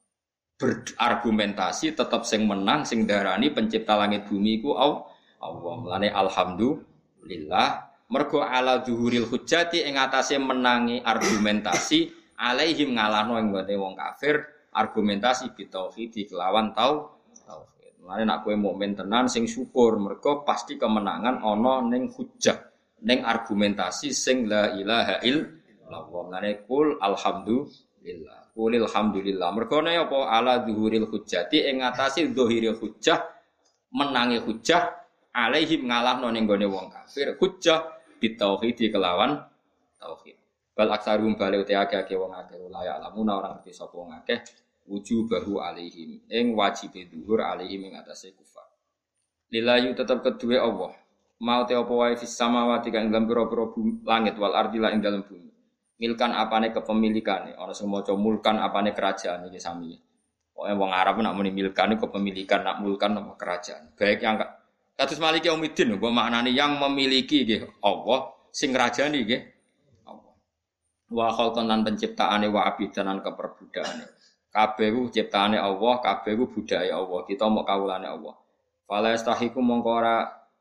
berargumentasi tetap sing menang sing darani pencipta langit bumi iku Allah. Mulane alhamdulillah mergo ala zuhuril hujjati ing atase menangi argumentasi alaihim ngalahno ing wong kafir argumentasi bitauhid kelawan tauhid. Mulane nek kowe mukmin tenan sing syukur mergo pasti kemenangan ana ning hujjah. Neng argumentasi sing la ilaha illallah. Mulane kul alhamdulillah. Qulil hamdulillah. Mergone apa ala zuhuril hujjati ing ngatasi zahiril hujjah menangi hujjah alaihim ngalahno ning gone wong kafir hujjah bitauhid kelawan tauhid. Bal aksarum bali uti akeh wong akeh la lamuna orang ngerti sapa wong akeh wujubahu alaihim ing wajibe zuhur alaihim ing atase kufar. Lillahi tetep kedue Allah. Mau te apa wae fis samawati kang dalam pira-pira langit wal ardi lan ing dalem bumi. Milkan apane kepemilikane, ana sing maca mulkan apane kerajaan iki sami. Pokoke wong Arab nak muni milkan iku kepemilikan, nak mulkan apa kerajaan. Baik yang kados Maliki Yaumiddin mbok maknane yang memiliki nggih Allah, sing ngrajani nggih Allah. Wa khalqan lan penciptaane wa abidanan keperbudakane. Kabeh ku ciptaane Allah, kabeh ku budaya Allah. Kita mok kawulane Allah. Fala yastahiku mongko ora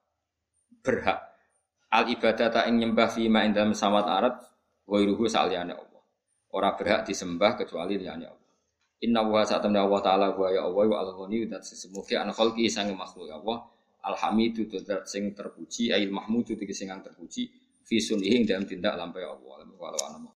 berhak al ibadata ing nyembah fi ma indam samawat arat wa iruhu saliyane Allah. Ora berhak disembah kecuali liyane Allah. Inna wa sa'tamna Allah taala wa ya Allah wa al-ghani dat sesemuge an khalqi sang makhluk Allah. Alhamidu dat sing terpuji ail mahmudu sing terpuji fi sunihi dalam tindak lampah Allah.